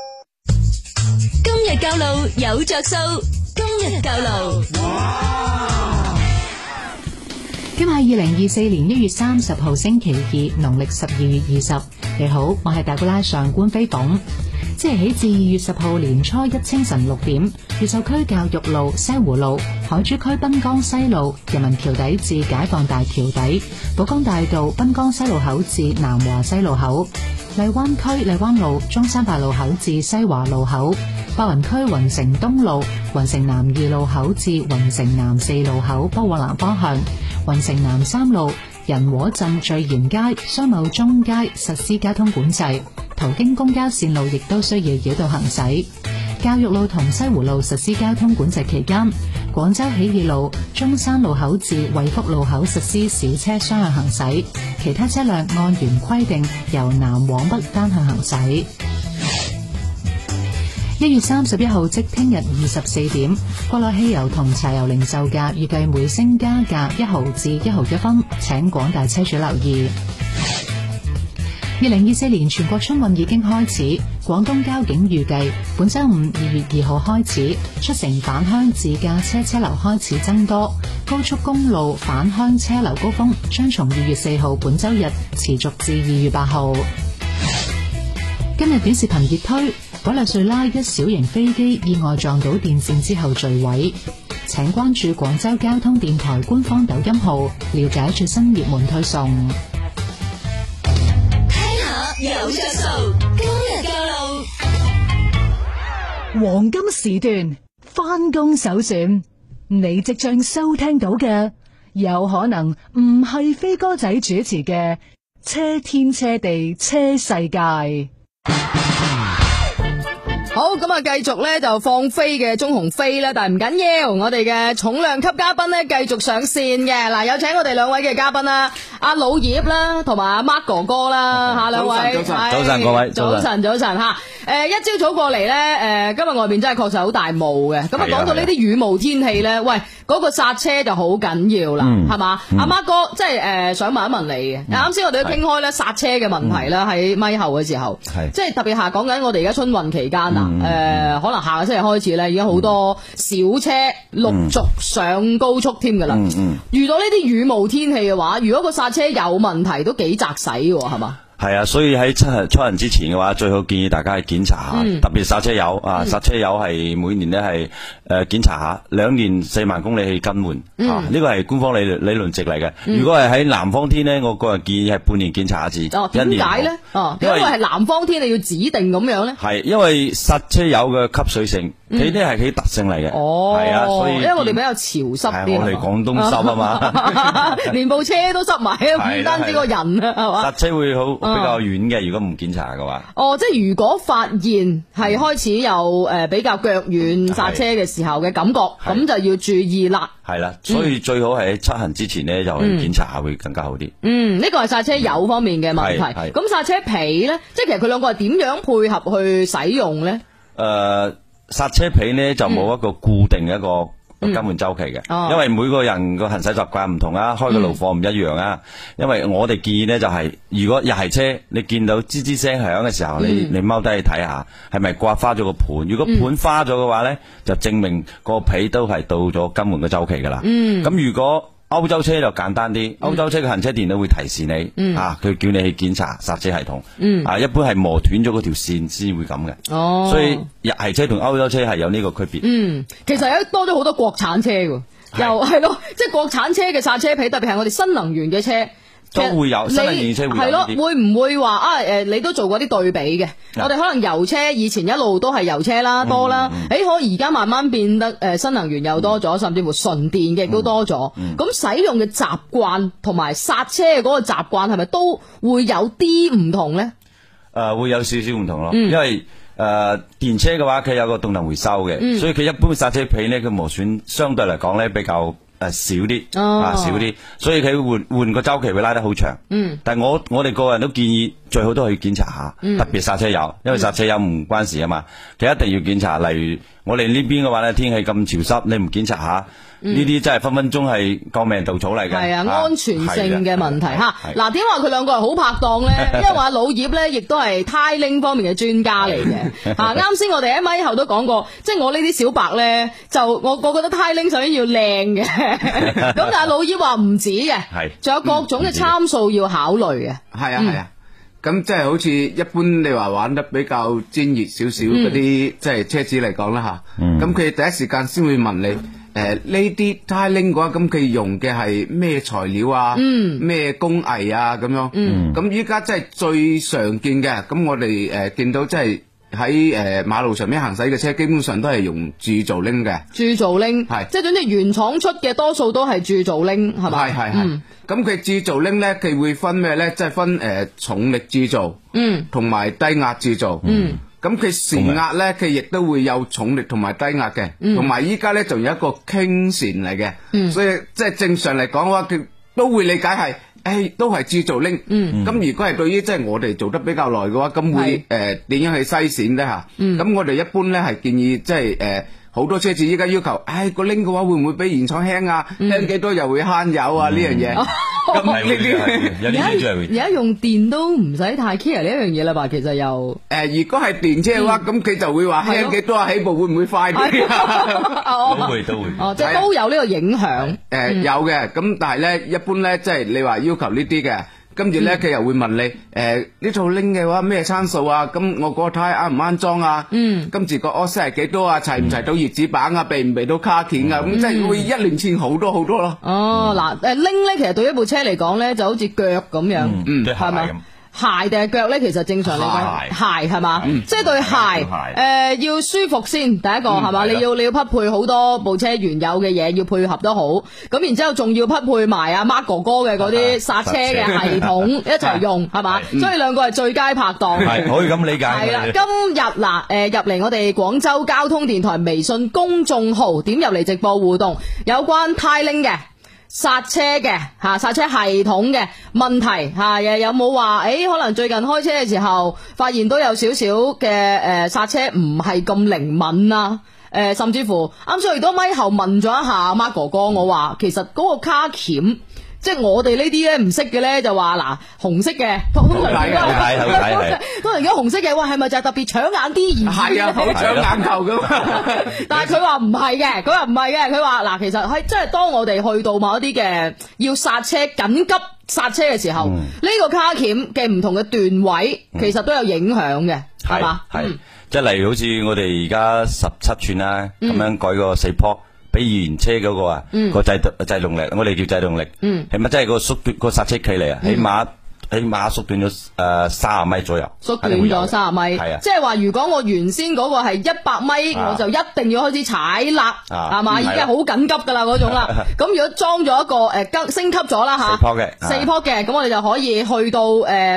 今日教路有着數，今日教路。 今日係2024年1月30號星期2，農曆12月20。你好，我係大姑拉上官飛鳳。即日起至2月10號年初一清晨6點，越秀區教育路、西湖路、海珠區濱江西路、人民橋底至解放大橋底、寶崗大道濱江西路口至南華西路口、荔灣區荔灣路中山八路口至西華路口、白雲區雲城東路雲城南2路口至雲城南4路口北往南方向、雲城南3路仁和鎮聚賢街、商貿中街實施交通管制，途經公交線路亦都需要繞道行駛。教育路同西湖路實施交通管制期間，廣州起義路中山路口至惠福路口實施小車雙向行駛，其他車輛按原規定由南往北單向行駛。1月31號即聽日24點，國內汽油同柴油零售價預計每升加價1毫至1毫1分，請廣大車主留意。2024年全國春運已經開始，廣東交警預計本周五2月2號開始，出城返鄉自駕車流開始增多，高速公路返鄉車流高峰將從2月4號本周日持續至2月8號。今日短視頻熱推，委內瑞拉一小型飛機意外撞到電線之後墜毀，請關注廣州交通電台官方抖音號，了解最新熱門推送。 有着數，今日教路。 黃金時段翻工首選，你即將收聽到嘅有可能唔係飛哥仔主持嘅車天車地車世界。 好，咁啊，繼續咧就放飛嘅鍾鴻飛咧，但係唔緊要，我哋嘅重量級嘉賓咧繼續上線嘅。嗱，有請我哋兩位嘅嘉賓啦，阿老葉啦，同埋阿 Mark 哥哥啦，吓兩位。 早晨各位， 早晨吓。一朝早過嚟咧，今日外邊真係確實好大霧嘅。咁啊，講到呢啲雨霧天氣咧，喂，嗰個剎車就好緊要啦，係嘛？阿 Mark 哥，即係想問一問你嘅。啱先我哋都傾開咧剎車嘅問題啦，喺咪後嘅時候，即係特別係講緊我哋而家春運期間啊。可能下個星期開始咧，已經好多小車陸續上高速添噶啦。遇到呢啲雨霧天氣嘅話，如果個剎車有問題，都幾扎使嘅，係嘛？ 係啊，所以喺出行之前嘅話，最好建議大家去檢查下，特別剎車油啊，剎車油係每年咧係檢查下，2年4萬公里去更換啊，呢個係官方理論值嚟嘅。如果係喺南方天咧，我個人建議係半年檢查一次。 點解咧？因為係南方天你要指定咁樣咧？係因為剎車油嘅吸水性，佢呢係佢特性嚟嘅。係啊，所以因為我哋比較潮濕啲， 我哋廣東濕啊嘛， 連部車都濕埋，唔單止個人啊，係嘛？ 剎車會好比較軟嘅，如果唔檢查嘅話。 即係如果發現係開始有比較腳軟剎車嘅時候嘅感覺，咁就要注意啦。 係啦，所以最好係喺出行之前呢，就去檢查下會更加好啲。 呢個係剎車油方面嘅問題。咁剎車皮呢，即係其實佢兩個係點樣配合去使用呢？ 剎車皮呢就冇一個固定嘅一個更換周期嘅，因為每個人個行駛習慣唔同啊，開嘅路況唔一樣啊。因為我哋建議呢就係，如果又係車，你見到吱吱聲響嘅時候，你踎低去睇下，係咪刮花咗個盤？如果盤花咗嘅話呢，就證明個皮都係到咗更換嘅周期噶啦。咁如果歐洲車就簡單啲，歐洲車嘅行車電腦會提示你，佢叫你去檢查剎車系統，一般係磨斷咗嗰條線先會咁嘅，所以日系車同歐洲車係有呢個區別。 其實有多咗好多國產車喎，又係咯，即係國產車嘅剎車皮，特別係我哋新能源嘅車。 都會有，新能源車會有。係咯， 會唔會話你都做過啲對比嘅？我哋可能油車以前一路都係油車啦，多啦。可而家慢慢變得新能源又多咗，甚至乎純電嘅亦都多咗。咁使用嘅習慣同埋剎車嘅嗰個習慣係咪都會有啲唔同咧？ 會有少少唔同咯，因為電車嘅話佢有個動能回收嘅，所以佢一般剎車皮咧，佢磨損相對嚟講咧比較少啲，少啲，所以佢換個周期會拉得好長。但係我哋個人都建議最好都去檢查下，特別剎車油，因為剎車油唔關事啊嘛，佢一定要檢查。例如我哋呢邊嘅話咧，天氣咁潮濕，你唔檢查下， 呢啲真係分分鐘係救命稻草嚟嘅。 係啊，安全性嘅問題吓。嗱，點話佢兩個係好拍檔咧？因為話老葉咧，亦都係 Tiling 方面嘅專家嚟嘅。吓，啱先我哋喺咪後都講過，即係我呢啲小白咧，就我覺得 Tiling 首先要靚嘅，咁但係老葉話唔止嘅，係，仲有各種嘅參數要考慮嘅。 係啊係啊。咁即係好似一般你話玩得比較專業少少嗰啲即係車子嚟講啦吓，咁佢第一時間先會問你呢啲 Tiling 嘅話，咁佢用嘅係咩材料啊，咩工藝啊咁樣，咁依家即係最常見嘅，咁我哋見到即係喺馬路上面行駛嘅車，基本上都係用鑄造鈴嘅，鑄造鈴係，即係總之原廠出嘅多數都係鑄造鈴係咪？係。咁佢鑄造鈴咧，佢會分咩咧？即係分重力鑄造，同埋低壓鑄造。咁佢旋壓咧，佢亦都會有重力同埋低壓嘅，同埋依家咧仲有一個傾旋嚟嘅。所以即係正常嚟講嘅話，佢都會理解係，都係鑄造鈴。咁如果係對於即係我哋做得比較耐嘅話，咁會點樣去篩選咧吓？咁我哋一般咧係建議即係好多車子依家要求，個鈴嘅話會唔會比原廠輕啊？輕幾多又會慳油啊？呢樣嘢，咁呢啲而家用電都唔使太 care 呢一樣嘢啦吧？其實又如果係電車嘅話，咁佢就會話輕幾多啊？起步會唔會快啲？ 都會， 即係都有呢個影響。 有嘅，咁但係咧，一般咧，即係你話要求呢啲嘅。跟住咧，佢又會問你，呢套鈴嘅話咩參數啊？咁我個胎啱唔啱裝啊？跟住個 offset 係幾多啊？齊唔齊到葉子板啊？備唔備到卡鉗啊？咁即係會一連串好多咯。 哦，嗱，鈴咧其實對一部車嚟講咧，就好似腳咁樣，係咪？鞋定係腳咧？其實正常嚟講，鞋係嘛？即係對鞋，要舒服先。第一個係嘛？你要匹配好多部車原有嘅嘢，要配合得好。咁然之後仲要匹配埋阿 Mark 哥哥嘅嗰啲剎車嘅系統一齊用，係嘛？所以兩個係最佳拍檔。 係可以咁理解。 係啦，今日嗱，入嚟我哋廣州交通電台微信公眾號，點入嚟直播互動，有關 Tiling 嘅。剎車嘅剎車系統嘅問題有冇話可能最近開車嘅時候發現都有少少嘅剎車唔係咁靈敏啊，甚至乎啱先亦都咪後問咗一下 Mark 哥哥，我話其實嗰個卡鉗。即係我哋呢啲咧唔識嘅咧就話嗱紅色嘅通常而家紅色嘅，哇係咪就係特別搶眼啲而係啊好搶眼球噶？但係佢話唔係嘅，佢話嗱其實係即係當我哋去到某一啲嘅要剎車緊急剎車嘅時候，呢個卡鉗嘅唔同嘅段位其實都有影響嘅，係嘛？係即係例如好似我哋而家17寸啦，咁樣改個4坡。比原車嗰個啊，個制動力，我哋叫制動力，係咪真係個縮短個剎車距離啊？起碼縮短咗30米左右， 縮短咗30米，係啊，即係話如果我原先嗰個係100米，我就一定要開始踩喇，係嘛？已經係好緊急噶啦嗰種啦。咁如果裝咗一個升級咗啦吓，4坡嘅，咁我哋就可以去到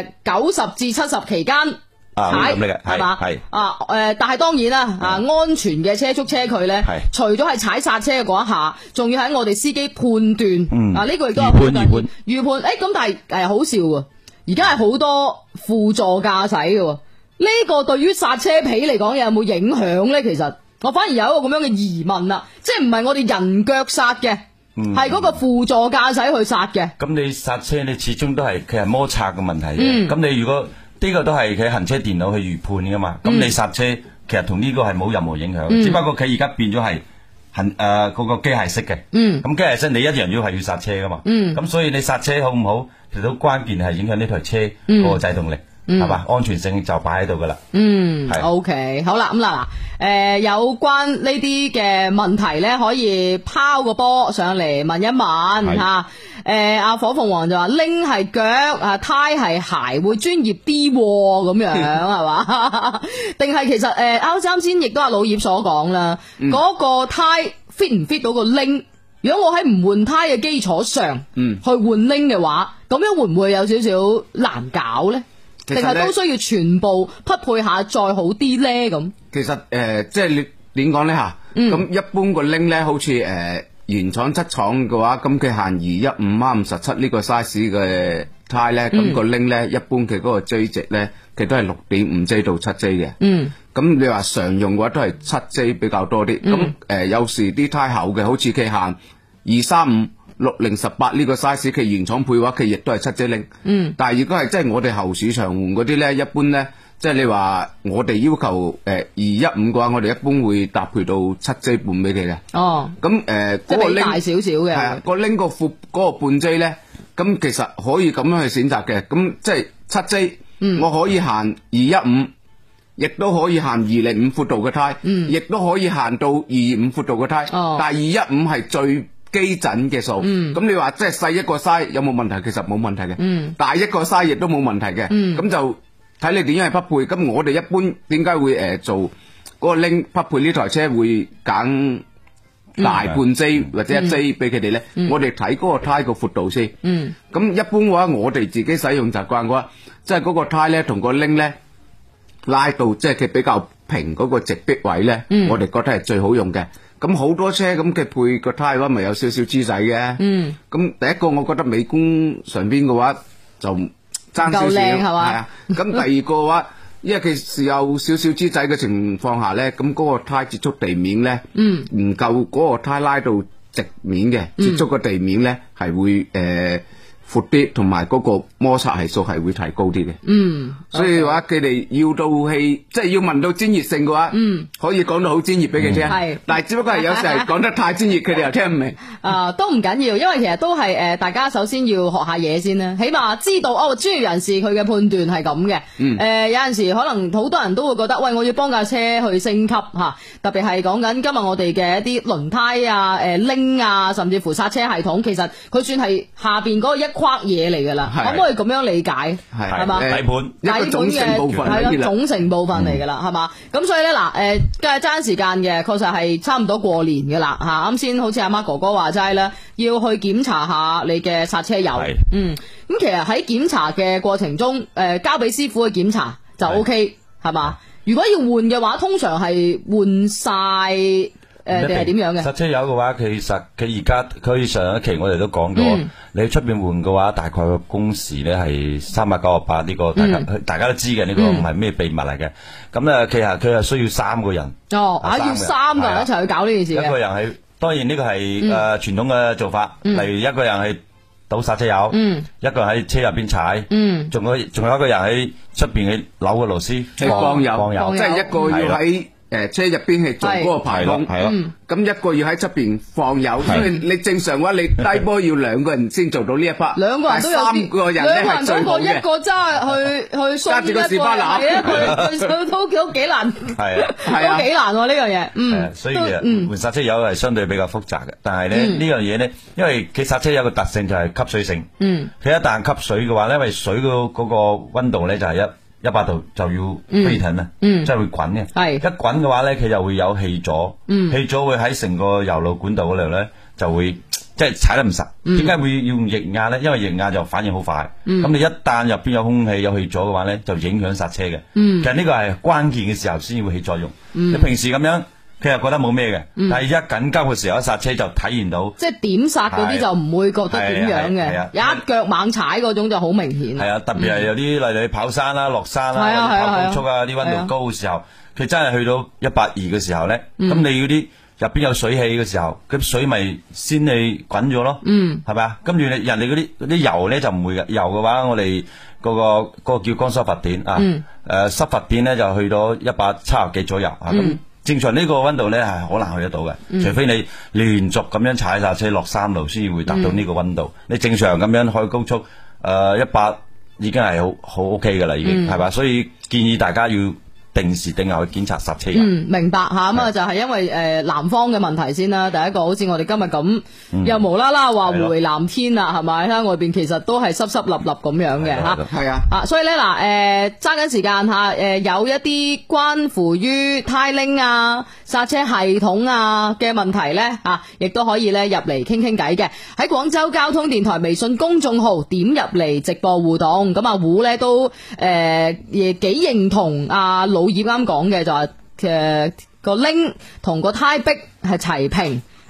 90至70期間。踩係嘛？係但係當然啦，安全嘅車速車距咧，除咗係踩剎車嘅嗰一下，仲要喺我哋司機判斷，呢個亦都有預判。咁但係好笑喎，而家係好多輔助駕駛嘅，呢個對於剎車皮嚟講有冇影響咧？其實我反而有一個咁樣嘅疑問啦，即係唔係我哋人腳剎嘅，係嗰個輔助駕駛去剎嘅。 咁你剎車你始終都係佢係摩擦嘅問題嘅，咁你如果呢個都係佢行車電腦去預判噶嘛，咁你剎車其實同呢個係冇任何影響，只不過佢而家變咗係嗰個機械式嘅，咁機械式你一樣要係要剎車噶嘛，咁所以你剎車好唔好，其實都關鍵係影響呢台車嗰個制動力，係嘛，安全性就擺喺度噶啦。 OK， 好啦，咁嗱，有關呢啲嘅問題咧，可以拋個波上嚟問一問吓。阿火鳳凰就話鈴係腳，胎係鞋，會專業啲咁樣係嘛？定係其實啱先亦都阿老葉所講啦，嗰個胎 fit 唔 fit 到個鈴？如果我喺唔換胎嘅基礎上，去換鈴嘅話，咁樣會唔會有少少難搞咧？定係都需要全部匹配下再好啲咧？咁其實即係你點講咧吓？咁一般個鈴咧，好似原廠出廠嘅話，咁佢限215/57呢個 size 嘅胎咧，咁個 link 咧一般佢嗰個 J 值咧，佢都係6.5J 到7J 嘅。咁你話常用嘅話都係7J 比較多啲。咁有時啲胎厚嘅，好似佢限235/6018呢個 size，佢原廠配嘅話，佢亦都係7J link。但係如果係即係我哋後市場換嗰啲咧，一般咧。即係你話我哋要求215嘅話，我哋一般會搭配到7J 半俾佢嘅。咁嗰個 link 大少少嘅。係啊， 個 link 個闊嗰個半 J 咧，咁其實可以咁樣去選擇嘅。咁即係7J，我可以限215，亦都可以限205闊度嘅胎，亦都可以限到225闊度嘅胎。但係215係最基準嘅數。咁你話即係細一個 size 有冇問題？其實冇問題嘅。大一個 size 亦都冇問題嘅。咁就睇你點樣去匹配，咁我哋一般點解會做嗰個 link 匹配呢台車會揀大半 J 或者1J 俾佢哋咧？我哋睇嗰個胎個闊度先。咁一般嘅話，我哋自己使用習慣嘅話，即係嗰個胎咧同個 link 咧拉到即係佢比較平嗰個直壁位咧，我哋覺得係最好用嘅。咁好多車咁佢配個胎嘅話，咪有少少豬仔嘅。咁第一個我覺得美觀上邊嘅話就爭少少係嘛？咁第二個嘅話，因為佢是有少少豬仔嘅情況下咧，咁嗰個胎接觸地面咧，唔夠嗰個胎拉到直面嘅，接觸個地面咧係會闊啲，同埋嗰個摩擦係數係會提高啲嘅。所以話佢哋要到氣，即係要問到專業性嘅話，可以講到好專業俾佢聽。但係只不過係有時係講得太專業，佢哋又聽唔明。 都唔緊要，因為其實都係大家首先要學下嘢先啦，起碼知道專業人士佢嘅判斷係咁嘅。有陣時可能好多人都會覺得，喂，我要幫架車去升級嚇，特別係講緊今日我哋嘅一啲輪胎啊、拎啊，甚至乎剎車系統，其實佢算係下邊嗰個一框嘢嚟㗎啦，可唔可以咁樣理解？係嘛？ 底盤一個總成部分係啦，總成部分嚟㗎啦，係嘛？咁所以咧嗱，梗係爭時間嘅，確實係差唔多過年㗎啦嚇。啱先好似阿媽哥哥話齋啦，要去檢查下你嘅剎車油。咁其實喺檢查嘅過程中，交俾師傅去檢查就 OK 係嘛？如果要換嘅話，通常係換晒。定係點樣嘅？ 剎車油嘅話，其實佢而家佢上一期我哋都講咗，你出邊換嘅話，大概個工時咧係398，呢個大家都知嘅，呢個唔係咩秘密嚟嘅。咁咧，其實佢係需要3個人。 要3個人一齊去搞呢件事嘅。 一個人係，當然呢個係傳統嘅做法，例如一個人係倒剎車油，一個人喺車入邊踩，仲有一個人喺出邊去扭個螺絲放油，即係一個要喺車入邊係做嗰個排孔，咁一個要喺出邊放油，所以你正常嘅話，你低波要2個人先做到呢一 part， 2個人都有 3個人咧係最好嘅。 一個揸去揸住個士巴拿，佢都幾難，都幾難呢樣嘢。 所以其實換剎車油係相對比較複雜嘅，但係咧呢樣嘢咧，因為佢剎車油嘅特性就係吸水性，佢一旦吸水嘅話咧，因為水嗰個溫度咧就係100度就要飛騰啦，即係會滾嘅。一滾嘅話咧，佢就會有氣阻，氣阻會喺成個油路管道嗰度咧就會即係踩得唔實。點解會要用液壓咧？因為液壓就反應好快。咁你一旦入邊有空氣有氣阻嘅話咧，就影響剎車嘅。其實呢個係關鍵嘅時候先會起作用。你平時咁樣，佢又覺得冇咩嘅，但係一緊急嘅時候，剎車就體現到， 即係點剎嗰啲就唔會覺得點樣嘅，一腳猛踩嗰種就好明顯。 係啊，特別係有啲例如跑山啦、落山啦、跑高速啊，啲溫度高嘅時候，佢真係去到120嘅時候咧，咁你嗰啲入邊有水氣嘅時候，咁水咪先你滾咗咯，係咪啊？跟住人哋嗰啲油咧就唔會嘅，油嘅話我哋嗰個叫乾濕發電啊，濕發電咧就去到170幾左右啊咁。正常呢個溫度咧係好難去得到嘅，除非你連續咁樣踩剎車落山路，先會達到呢個溫度。你正常咁樣開高速，100已經係好 OK 噶啦，已經係嘛？所以建議大家要定時定候去檢查剎車油。 明白吓，咁啊就係因為南方嘅問題先啦。第一個好似我哋今日咁，又無啦啦話回南天啦，係咪？喺外邊其實都係濕濕立立咁樣嘅吓。 係啊， 所以咧嗱，揸緊時間吓，有一啲關乎於呔鈴啊、剎車系統啊嘅問題咧吓，亦都可以咧入嚟傾傾偈嘅。喺廣州交通電台微信公眾號點入嚟直播互動，咁啊胡咧都亦幾認同阿老葉啱講嘅，就係個鈴同個呔壁係齊平，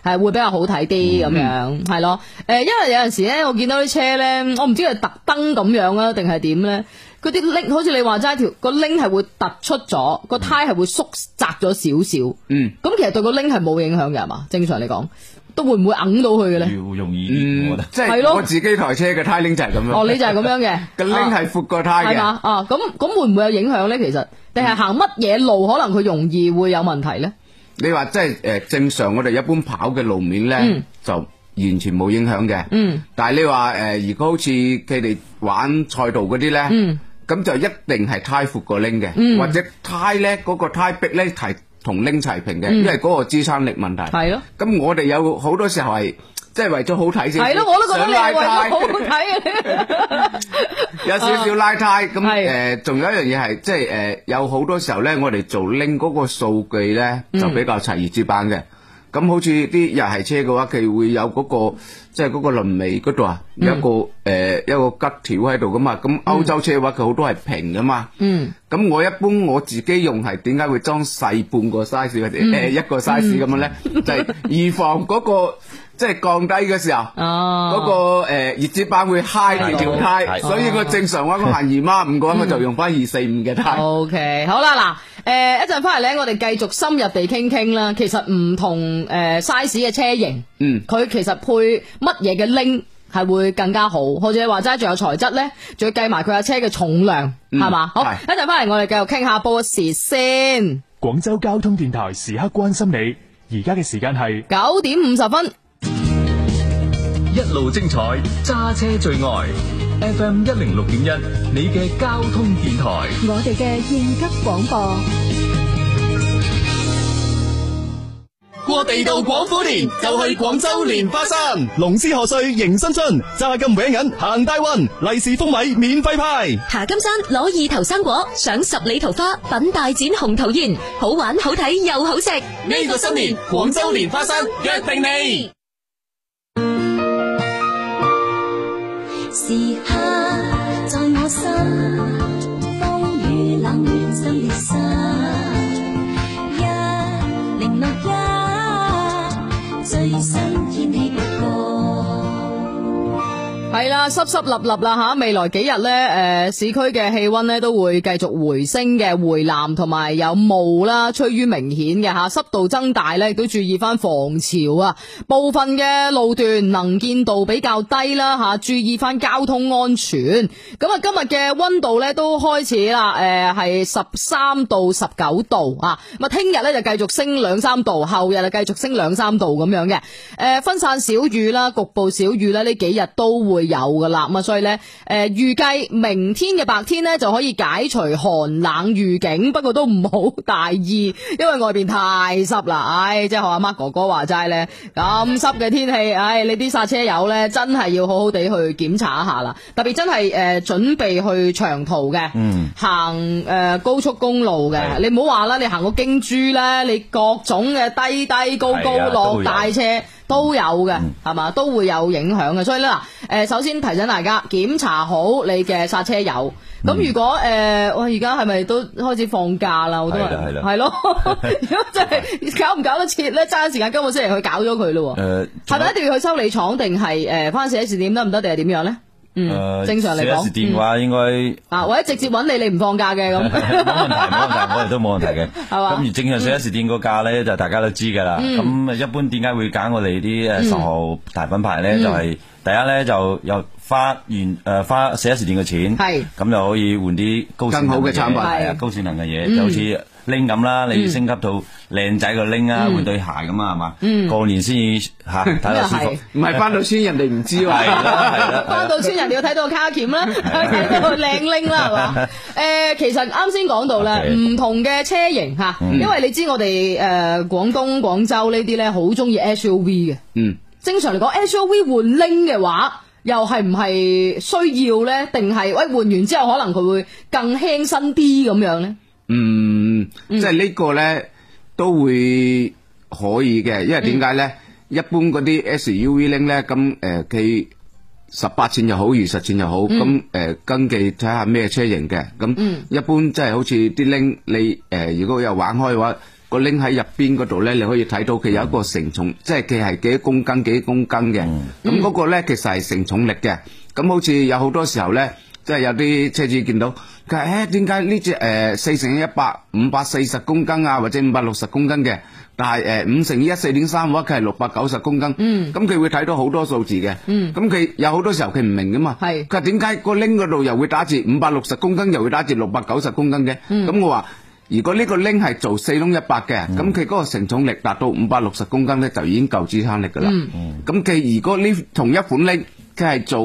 係會比較好睇啲咁樣，係咯。因為有陣時咧，我見到啲車咧，我唔知係特登咁樣啊，定係點咧？嗰啲拎好似你話齋個拎係會突出咗，個胎係會縮窄咗少少。咁其實對個拎係冇影響嘅係嘛？正常嚟講，都會唔會揞到佢嘅咧？ 要容易啲，我覺得。 即係我自己台車嘅胎拎就係咁樣。 哦，你就係咁樣嘅， 個拎係闊過胎嘅。 係嘛？咁會唔會有影響咧？其實，定係行乜嘢路可能佢容易會有問題咧？ 你話即係正常我哋一般跑嘅路面咧，就完全冇影響嘅。但係你話如果好似佢哋玩賽道嗰啲咧，咁就一定係胎闊過拎嘅，或者胎咧嗰個胎壁咧係同拎齊平嘅，因為嗰個支撐力問題。係咯。咁我哋有好多時候係即係為咗好睇先。係咯，我都覺得你係為咗好睇嘅。有少少拉胎，咁仲有一樣嘢係即係有好多時候咧，我哋做拎嗰個數據咧就比較齊如紙板嘅。咁好似啲日系車嘅話，佢會有嗰個即係嗰個輪眉嗰度啊，有一個吉條喺度噶嘛。咁歐洲車嘅話，佢好多係平噶嘛。咁我一般我自己用係點解會裝細半個 size 或者一個 size 咁樣咧？就係預防嗰個即係降低嘅時候，嗰個熱紙板會揩住條胎，所以我正常話我行2.5嘅話，我就用翻245嘅胎。 OK， 好啦，嗱，一陣翻嚟咧，我哋繼續深入地傾啦。其實唔同size 嘅車型，佢其實配乜嘢嘅拎係會更加好，或者你話齋仲有材質咧，仲要計埋佢架車嘅重量，係嘛？好，一陣翻嚟我哋繼續傾下報時先。 廣州交通電台時刻關心你，而家嘅時間係 9點50分。 一路精彩，揸車最愛 FM 106.1，你嘅交通電台， 我哋嘅應急廣播。 過地道廣府年就去廣州蓮花山， 龍獅賀歲迎新春，揸金搲銀行大運，利是封米免費派。 爬金山攞2頭生果，賞10里桃花，品大展紅桃宴，好玩好睇又好食。 呢個新年廣州蓮花山約定你。 時刻在我心，風雨冷暖心裂心，1061最新天氣報告。 係啦，濕濕立立啦吓，未來幾日咧，市區嘅氣溫咧都會繼續回升嘅，回南同埋有霧啦，趨於明顯嘅吓，濕度增大咧，亦都注意翻防潮啊，部分嘅路段能見度比較低啦吓，注意翻交通安全。咁啊，今日嘅溫度咧都開始啦，係13到19度啊，咁啊，聽日咧就繼續升2-3度，後日就繼續升2-3度咁樣嘅，分散小雨啦，局部小雨咧，呢幾日都會有噶啦，咁啊，所以咧，預計明天嘅白天咧就可以解除寒冷預警，不過都唔好大意，因為外邊太濕啦，即係學阿 Mark 哥哥話齋咧，咁濕嘅天氣，你啲剎車友咧真係要好好地去檢查一下啦，特別真係準備去長途嘅，行高速公路嘅，你唔好話啦，你行個京珠咧，你各種嘅低低高高落大車。都有嘅，係嘛，都會有影響嘅，所以咧嗱，首先提醒大家檢查好你嘅剎車油。咁如果我而家係咪都開始放假啦？好多人係咯，如果真係搞唔搞得切咧，揸緊時間今個星期去搞咗佢咯。係咪一定要去修理廠定係翻4S店得唔得定係點樣咧？正常嚟講 4S店嘅話應該或者直接揾你唔放假嘅咁，冇問題，我哋都冇問題嘅。係嘛？咁而正常4S店個價咧就大家都知噶啦。咁一般點解會揀我哋啲10號大品牌咧？就係第一咧就又花 4S店嘅錢，係咁就可以換啲更好嘅產品，高性能嘅嘢，就好似拎咁啦，你升級到靚仔個拎啊，換對鞋咁啊，係嘛？過年先至睇到舒服， 唔係翻到村人哋唔知喎。係啦，翻到村人哋要睇到個卡鉗啦，睇到靚拎啦，係嘛？其實啱先講到咧，唔同嘅車型吓，因為你知我哋廣東廣州呢啲咧好中意 SUV 嘅，正常嚟講 SUV 換拎嘅話，又係唔係需要咧？定係換完之後可能佢會更輕身啲咁樣咧？ 即係呢個咧都會可以嘅，因為點解咧？一般嗰啲 SUV 拎咧，咁佢18寸又好，20寸又好，咁根據睇下咩車型嘅，咁一般即係好似啲拎你如果有玩開嘅話， 個拎喺入邊嗰度咧，你可以睇到佢有一個承重，即係佢係幾多公斤嘅。咁嗰個咧其實係承重力嘅。咁好似有好多時候咧，即係有啲車主見到佢話點解呢隻4×100 540公斤啊，或者560公斤嘅，但係5×1 4.3嘅話，佢係690公斤。咁佢會睇到好多數字嘅。咁佢有好多時候佢唔明噶嘛。佢話點解個拎嗰度又會打字560公斤，又會打字690公斤嘅？咁我話如果呢個拎係做4窿100嘅，咁佢嗰個承重力達到560公斤咧，就已經夠支撐力噶啦。咁佢如果呢同一款拎，佢係做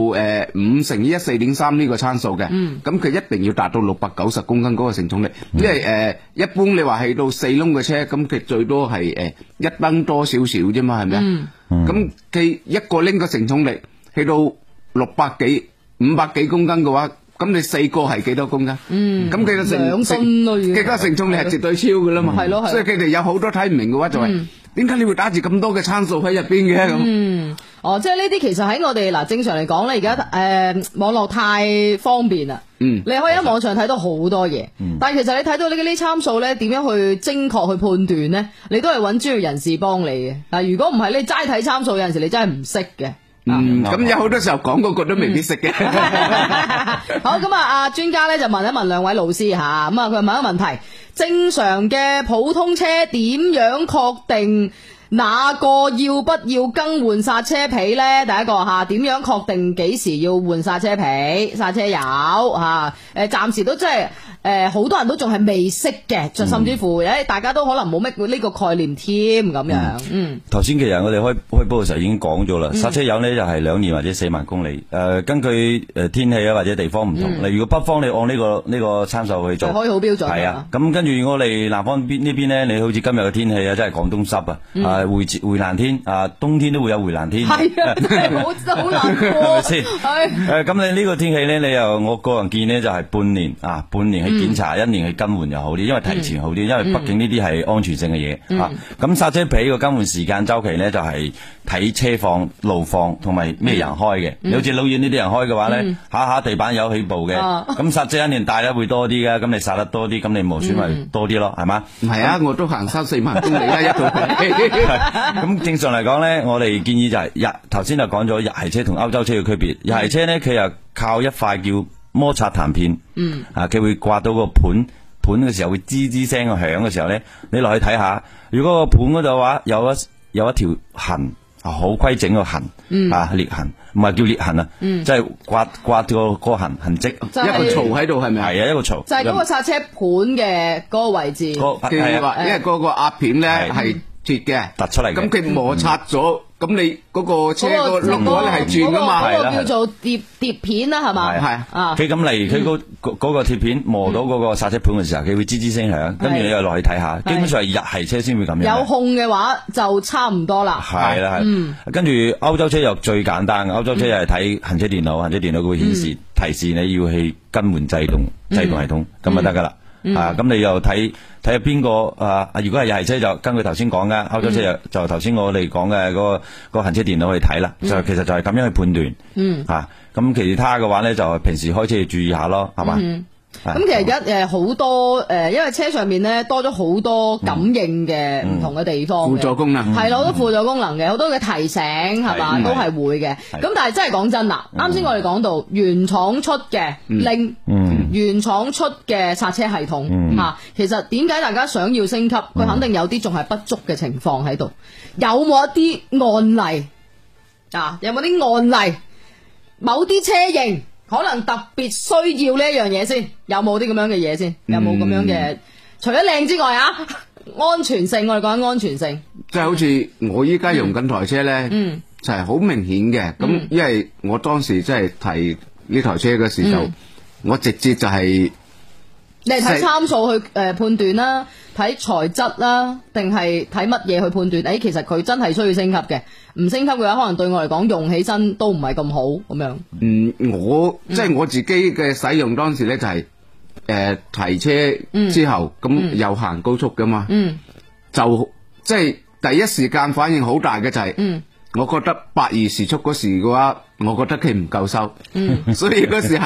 5×1 4.3呢個參數嘅，咁佢一定要達到690公斤嗰個承重力，因為一般你話係到4窿嘅車，咁佢最多係1噸多少少啫嘛，係咪啊？咁佢一個拎嘅承重力去到600幾500幾公斤嘅話，咁你4個係幾多公斤？咁佢嘅佢個承重力係絕對超噶啦嘛。係咯，所以佢哋有好多睇唔明嘅話就係點解你會打住咁多嘅參數喺入邊嘅咁？ 即係呢啲其實喺我哋嗱正常嚟講咧，而家網絡太方便啦。你可以喺網上睇到好多嘢，但係其實你睇到呢啲參數咧，點樣去精確去判斷咧？你都係揾專業人士幫你嘅。嗱，如果唔係你齋睇參數，有陣時你真係唔識嘅。 咁有好多時候講嗰個都未必識嘅。 好，咁阿專家咧就問一問兩位老師吓，咁啊佢問一個問題：正常嘅普通車點樣確定哪個要不要更換剎車皮咧？第一個吓，點樣確定幾時要換剎車皮、剎車油吓？暫時都真係好多人都仲係未識嘅，甚至乎大家都可能冇乜呢個概念添咁樣。 頭先其實我哋開波嘅時候已經講咗啦，剎車油呢就係2年或者4萬公里。根據天氣啊或者地方唔同，例如果北方你按呢個參數去做， 可以好標準。 係啊，咁跟住我哋南方呢邊呢，你好似今日嘅天氣啊，真係廣東濕啊。回南天冬天都會有回南天，係啊，真係好難過，係咪先？咁你呢個天氣咧，你又我個人建議咧就係半年去檢查，1年去更換又好啲，因為提前好啲，因為畢竟呢啲係安全性嘅嘢。咁剎車皮個更換時間周期咧就係睇車況、路況同埋咩人開嘅。你好似老遠呢啲人開嘅話咧，下地板有起步嘅，咁剎車一年大咧會多啲嘅，咁你剎得多啲，咁你磨損咪多啲咯，係嘛？ 唔係啊，我都行3-4萬公里啦，一套。 咁正常嚟講咧，我哋建議就係頭先就講咗日系車同歐洲車嘅區別。日系車咧，佢又靠一塊叫摩擦彈片，佢會刮到個盤嘅時候會吱吱聲響嘅時候咧，你落去睇下，如果個盤嗰度話有一條痕，好規整個痕，裂痕，唔係叫裂痕啊，即係刮個痕跡， 一個槽喺度係咪？ 係啊，一個槽。 就係嗰個剎車盤嘅嗰個位置。 係啊，因為嗰個壓片咧係鐵嘅， 突出嚟嘅。咁佢摩擦咗，咁你嗰個車個轆嗰咧係轉噶嘛？ 嗰個叫做碟片啦，係嘛？ 係啊。 佢咁嚟，佢嗰個鐵片磨到嗰個剎車盤嘅時候，佢會吱吱聲響，跟住你又落去睇下。基本上係日系車先會咁樣。 有控嘅話就差唔多啦。 係啦，跟住歐洲車又最簡單，歐洲車又係睇行車電腦，行車電腦佢會顯示提示你要去更換制動系統，咁就得噶啦。咁你又睇下邊個如果係日系車就根據頭先講嘅，歐洲車就頭先我哋講嘅嗰個行車電腦去睇啦，就其實就係咁樣去判斷。咁其他嘅話咧就平時開車要注意下咯，係嘛？ 咁其實而家好多因為車上面咧多咗好多感應嘅唔同嘅地方， 輔助功能係咯，好多輔助功能嘅，好多嘅提醒係嘛，都係會嘅。咁但係真係講真啦，啱先我哋講到原廠出嘅拎，原廠出嘅剎車系統其實點解大家想要升級？佢肯定有啲仲係不足嘅情況喺度。有冇一啲案例有冇啲案例？某啲車型可能特別需要呢一樣嘢先，有冇啲咁樣嘅嘢先？有冇咁樣嘅？除咗靚之外安全性，我哋講緊安全性， 即係好似我依家用緊台車咧，就係好明顯嘅。咁因為我當時即係提呢台車嘅時候，我直接就係你係睇參數去判斷啦，睇材質啦，定係睇乜嘢去判斷？其實佢真係需要升級嘅。唔升級嘅話，可能對我嚟講用起身都唔係咁好咁樣。 我即係我自己嘅使用當時咧就係提車之後咁又行高速噶嘛，就即係第一時間反應好大嘅就係，我覺得82時速嗰時嘅話，我覺得佢唔夠收，所以嗰時係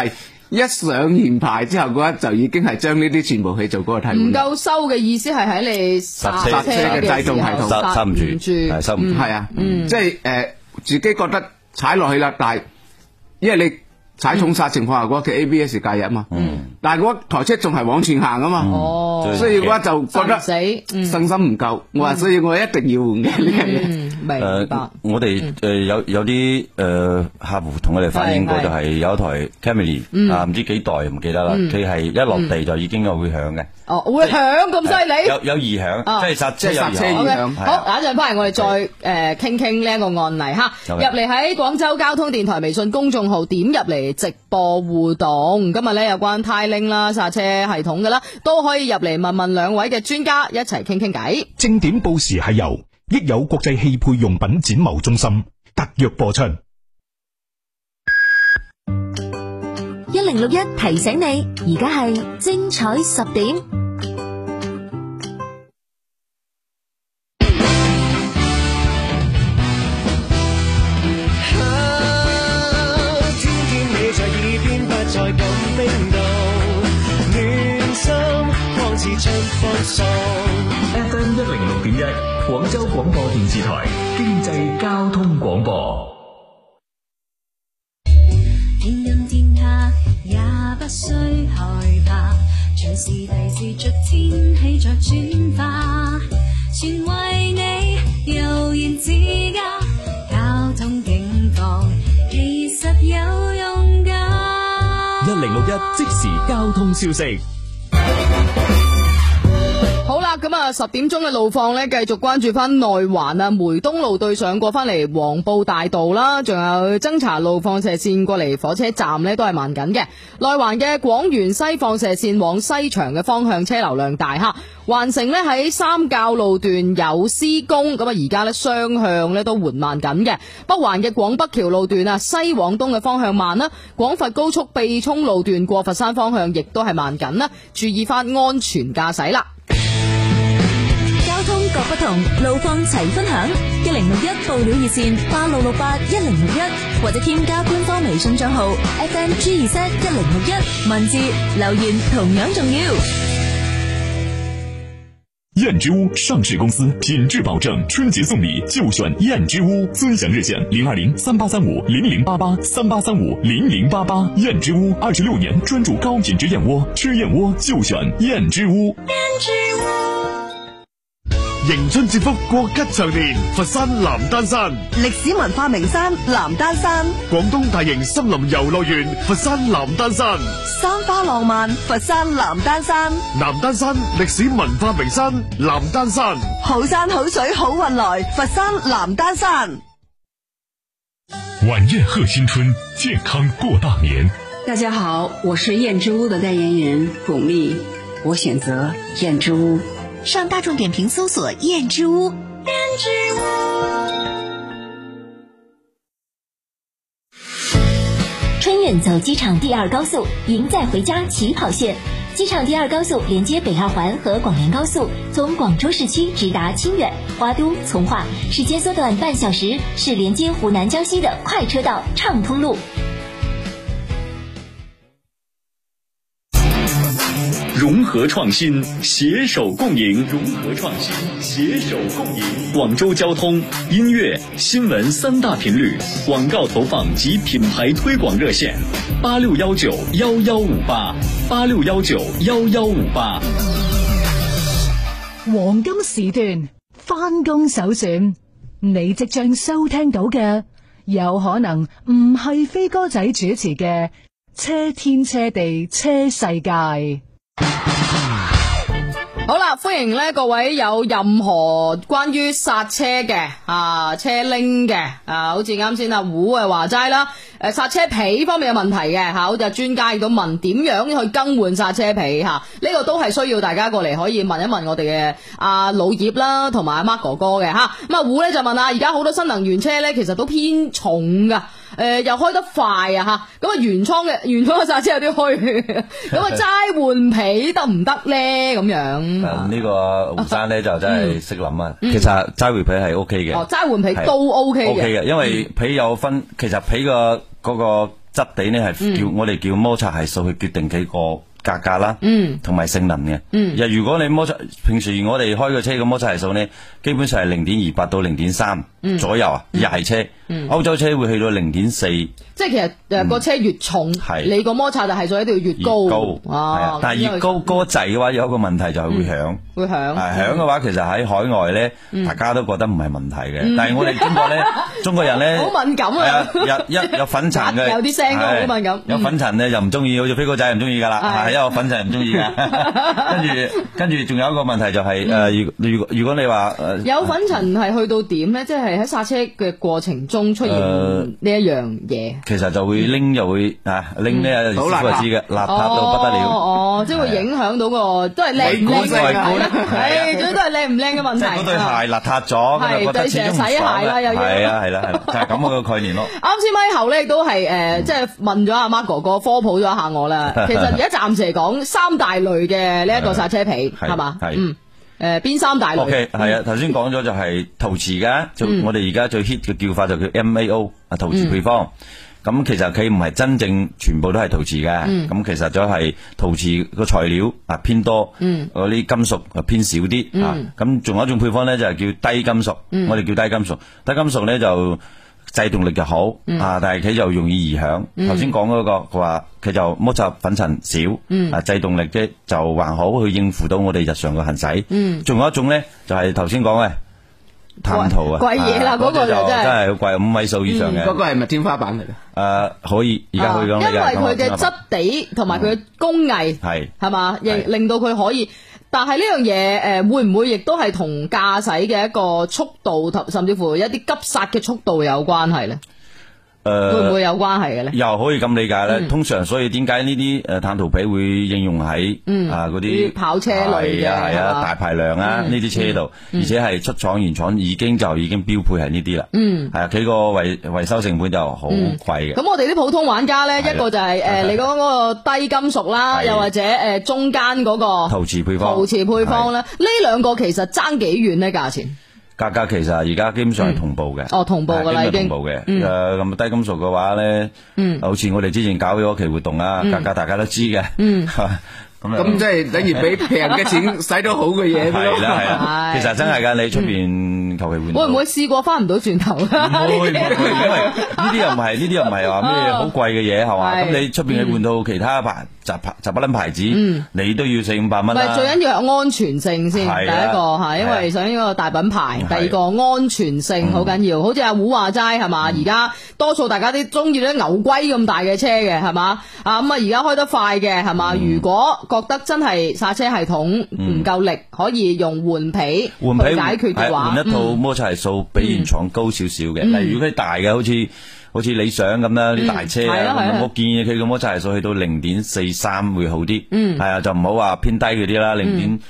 一上完牌之後嘅話，就已經係將呢啲全部去做嗰個替換。 唔夠收嘅意思係喺你剎車嘅制動系統剎唔住，收唔住。 係啊，即係自己覺得踩落去啦，但係因為你踩重剎情況下嘅話，佢 ABS 介入啊嘛。但係嗰台車仲係往前行啊嘛。所以嘅話就覺得信心唔夠。我話所以我一定要換嘅呢樣嘢。 明白。 我哋有啲客戶同我哋反映過，就係有一台 Camry 啊，唔知幾代唔記得啦。佢係一落地就已經有會響嘅。 哦，會響咁犀利？ 有異響，即係剎車有異響。 好，等一陣翻嚟我哋再傾傾呢一個案例哈。入嚟喺廣州交通電台微信公眾號點入嚟直播互動。今日咧有關 Tiling 啦、剎車系統嘅啦，都可以入嚟問問兩位嘅專家一齊傾傾偈。 正點報時係由益友國際汽配用品展貿中心特約播出。 1061提醒你，而家係精彩10點。 天天你在耳邊，不再咁冰凍，暖心光似春風送。 FM 106.1，廣州廣播電視台經濟交通廣播。 天陰天黑也不需害怕，隨時提示着天氣在轉化，全為你悠然自家，交通警報其實有用㗎。 1061即時交通消息。 好啦，咁啊10點鐘嘅路況呢，繼續關注翻內環啊梅東路對上過翻嚟黃埔大道啦，仲有增槎路放射線過嚟火車站呢，都係慢緊嘅。內環嘅廣園西放射線往西牆嘅方向車流量大哈。環城呢喺三滘路段有施工，咁啊而家呢雙向呢都緩慢緊嘅。北環嘅廣北橋路段啊西往東嘅方向慢啦，廣佛高速秘涌路段過佛山方向亦都係慢緊啦，注意翻安全駕駛啦。 交通各不同，路況齊分享。1061報料熱線86681061，或者添加官方微信賬號 FMG2Z1061，文字留言同樣重要。 燕之屋上市公司，品质保证，春节送礼就选燕之屋。尊享热线02038350088，38350088。燕之屋26年专注高品质燕窝，吃燕窝就选燕之屋。 燕之屋。 迎春接福，國吉祥年，佛山南丹山歷史文化名山南丹山， 廣東大型森林遊樂園佛山南丹山， 山花浪漫佛山南丹山， 南丹山歷史文化名山南丹山， 好山好水好運來佛山南丹山。 晚宴賀新春，健康過大年。 大家好，我是燕之屋的代言人巩俐，我選擇燕之屋。 上大眾點評搜索燕之屋。燕之屋。春運走機場第二高速，贏在回家起跑線。機場第二高速連接北二環和廣連高速，從廣州市區直達清遠、花都、從化，時間縮短半小時，是連接湖南江西的快車道暢通路。 融合創新，攜手共贏。融合創新，攜手共贏。廣州交通、音樂、新聞三大頻率廣告投放及品牌推廣熱線：86191158，86191158。 黃金時段翻工首選，你即將收聽到嘅，有可能唔係飛哥仔主持嘅《車天車地車世界》。 好啦，歡迎咧各位有任何關於剎車嘅車拎嘅好似啱先阿胡話齋啦，剎車皮方面有問題嘅好似專家亦都問點樣去更換剎車皮呢個都係需要大家過嚟可以問一問我哋嘅阿老葉啦，同埋阿 Mark 哥哥嘅咁啊胡咧就問而家好多新能源車咧其實都偏重噶。又開得快咁原廠嘅剎車有啲虛，咁齋換皮得唔得咧？咁樣呢個胡生咧就真係識諗啊！其實齋換皮係 O K 嘅， 齋換皮都 O K 嘅， 因為皮有分，其實皮個嗰個質地呢係我哋叫摩擦係數去決定幾個價格啦，同埋性能嘅。如果你平時我哋開個車嘅摩擦係數呢，基本上係0.28到0.3左右啊，日系車。歐洲車會去到0.4。即係其實個車越重，你個摩擦係數一定要越高。但係越高嗰滯嘅話，有一個問題就係會響。會響。響嘅話，其實喺海外呢，大家都覺得唔係問題嘅。但係我哋中國人呢，好敏感啊。有粉塵嘅，有啲聲都好敏感。有粉塵呢，就唔中意，好似飛哥仔唔中意噶啦。因為我粉塵唔中意噶。跟住仲有一個問題就係如果你話有粉塵係去到點呢？即係喺剎車嘅過程中出現呢一樣嘢。其實就會拎又會拎呢，師傅就知嘅，邋遢到不得了。即係會影響到個都係靚唔靚嘅，係都係靚唔靚嘅問題。即係嗰對鞋邋遢咗，係對成日洗鞋啦，又要係啦，就係咁個概念咯。啱先咪後咧亦都係即係問咗阿 Mark 哥哥科普咗一下我啦。其實而家暫時嚟講3大類嘅呢一個剎車皮係嘛？邊3大類？OK， 係啊，頭先講咗就係陶瓷嘅，我哋而家最 hit 嘅叫法就叫 MAO 陶瓷配方。咁其實佢唔係真正全部都係陶瓷嘅，咁其實就係陶瓷個材料偏多，嗰啲金屬偏少啲。咁仲有一種配方咧就係叫低金屬，我哋叫低金屬。低金屬咧就制動力就好，但係佢就容易異響。頭先講嗰個佢話佢就摩擦粉塵少，制動力嘅就還好，去應付到我哋日常嘅行駛。仲有一種咧就係頭先講嘅碳陶貴嘢啦，嗰個就真係好貴，5位數以上嘅。嗰個係咪天花板嚟嘅？可以，而家可以講。因為佢嘅質地同埋佢嘅工藝係嘛，亦令到佢可以。但係呢樣嘢會唔會亦都係同駕駛嘅一個速度，甚至乎一啲急剎嘅速度有關係咧？會唔會有關係嘅咧？又可以咁理解咧。通常所以點解呢啲碳陶皮會應用喺嗰啲跑車類嘅係啊大排量呢啲車度，而且係出廠原廠已經標配係呢啲啦。係啊，佢個維修成本就好貴嘅。咁我哋啲普通玩家咧，一個就係你講嗰個低金屬啦，又或者中間嗰個陶瓷配方咧，呢兩個其實爭幾遠咧價錢？價格其實而家基本上係同步嘅，同步噶啦已經。同步嘅，咁低金屬嘅話咧，好似我哋之前搞咗期活動啦，價格大家都知嘅。咁即係等於俾平嘅錢使到好嘅嘢。係啦，其實真係噶，你出邊求其換。會唔會試過翻唔到轉頭？唔會，因為呢啲又唔係話咩好貴嘅嘢係嘛？咁你出邊去換到其他雜不撚牌子，你都要400-500蚊啦。最緊要係安全性先，第一個係因為想呢個大品牌，第二個安全性好緊要。好似阿胡話齋係嘛，而家多數大家都中意啲牛龜咁大嘅車嘅係嘛，咁啊而家開得快嘅係嘛，如果覺得真係剎車系統唔夠力，可以用換皮去解決嘅話，換一套摩擦係數比原廠高少少嘅。例如佢大嘅，好似理想咁啦，啲大車我建議佢個摩擦係數去到0.43會好啲。係啊，就唔好話偏低嗰啲啦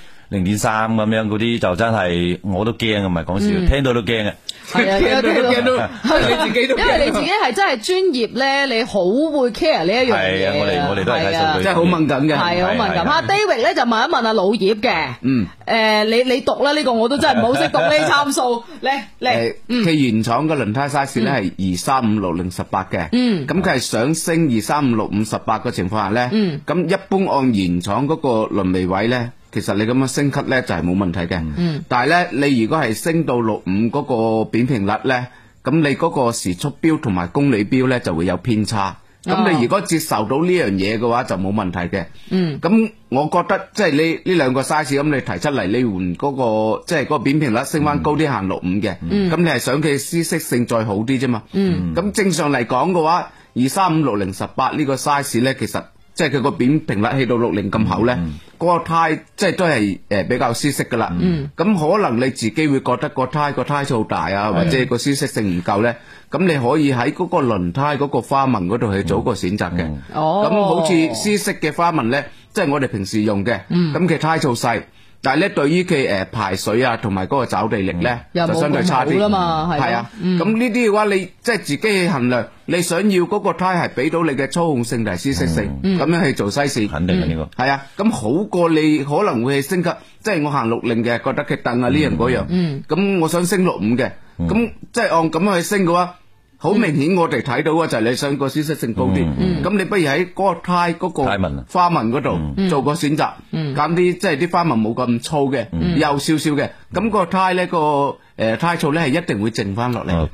，0.3咁樣嗰啲就真係我都驚，唔係講笑，聽到都驚嘅。係啊，聽到你自己都，因為你自己係真係專業咧，你好會 care 呢一樣嘢。係啊，我哋都係睇數據，真係好敏感嘅。係好敏感。阿 David 咧就問一問阿老葉嘅，你讀啦呢個，我都真係唔好識讀呢參數。嚟，佢原廠嘅輪胎 size 咧係235/608嘅，咁佢係想升235/658嘅情況下咧，咁一般按原廠嗰個輪眉位咧。其實你咁樣升級咧就係冇問題嘅，但係咧你如果係升到65嗰個扁平率咧，咁你嗰個時速表同埋公里表咧就會有偏差。咁你如果接受到呢樣嘢嘅話就冇問題嘅。咁我覺得即係呢兩個 size 咁你提出嚟，你換嗰個即係嗰個扁平率升翻高啲行65嘅，咁你係想佢舒適性再好啲啫嘛。咁正常嚟講嘅話，235/608呢個 size 咧，其實即係佢個扁平率去到60咁厚咧，嗰個胎即係都係比較舒適噶啦。咁可能你自己會覺得個胎數大啊，或者個舒適性唔夠咧，咁你可以喺嗰個輪胎嗰個花紋嗰度去做個選擇嘅。咁好似舒適嘅花紋咧，即係我哋平時用嘅，咁佢胎數細。但係咧，對於佢排水啊，同埋嗰個抓地力咧，就相對差啲啦嘛。係啊，咁呢啲嘅話，你即係自己去衡量，你想要嗰個胎係俾到你嘅操控性同舒適性，咁樣去做西線。肯定嘅呢個。係啊，咁好過你可能會去升級，即係我行60嘅，覺得佢凳啊呢樣嗰樣，咁我想升65嘅，咁即係按咁樣去升嘅話， 好明顯我哋睇到嘅就係你想個舒適性高啲，咁你不如喺嗰個胎嗰個花紋嗰度做個選擇，揀啲即係啲花紋冇咁粗嘅，幼少少嘅，咁個胎咧個胎醋咧係一定會剩翻落嚟。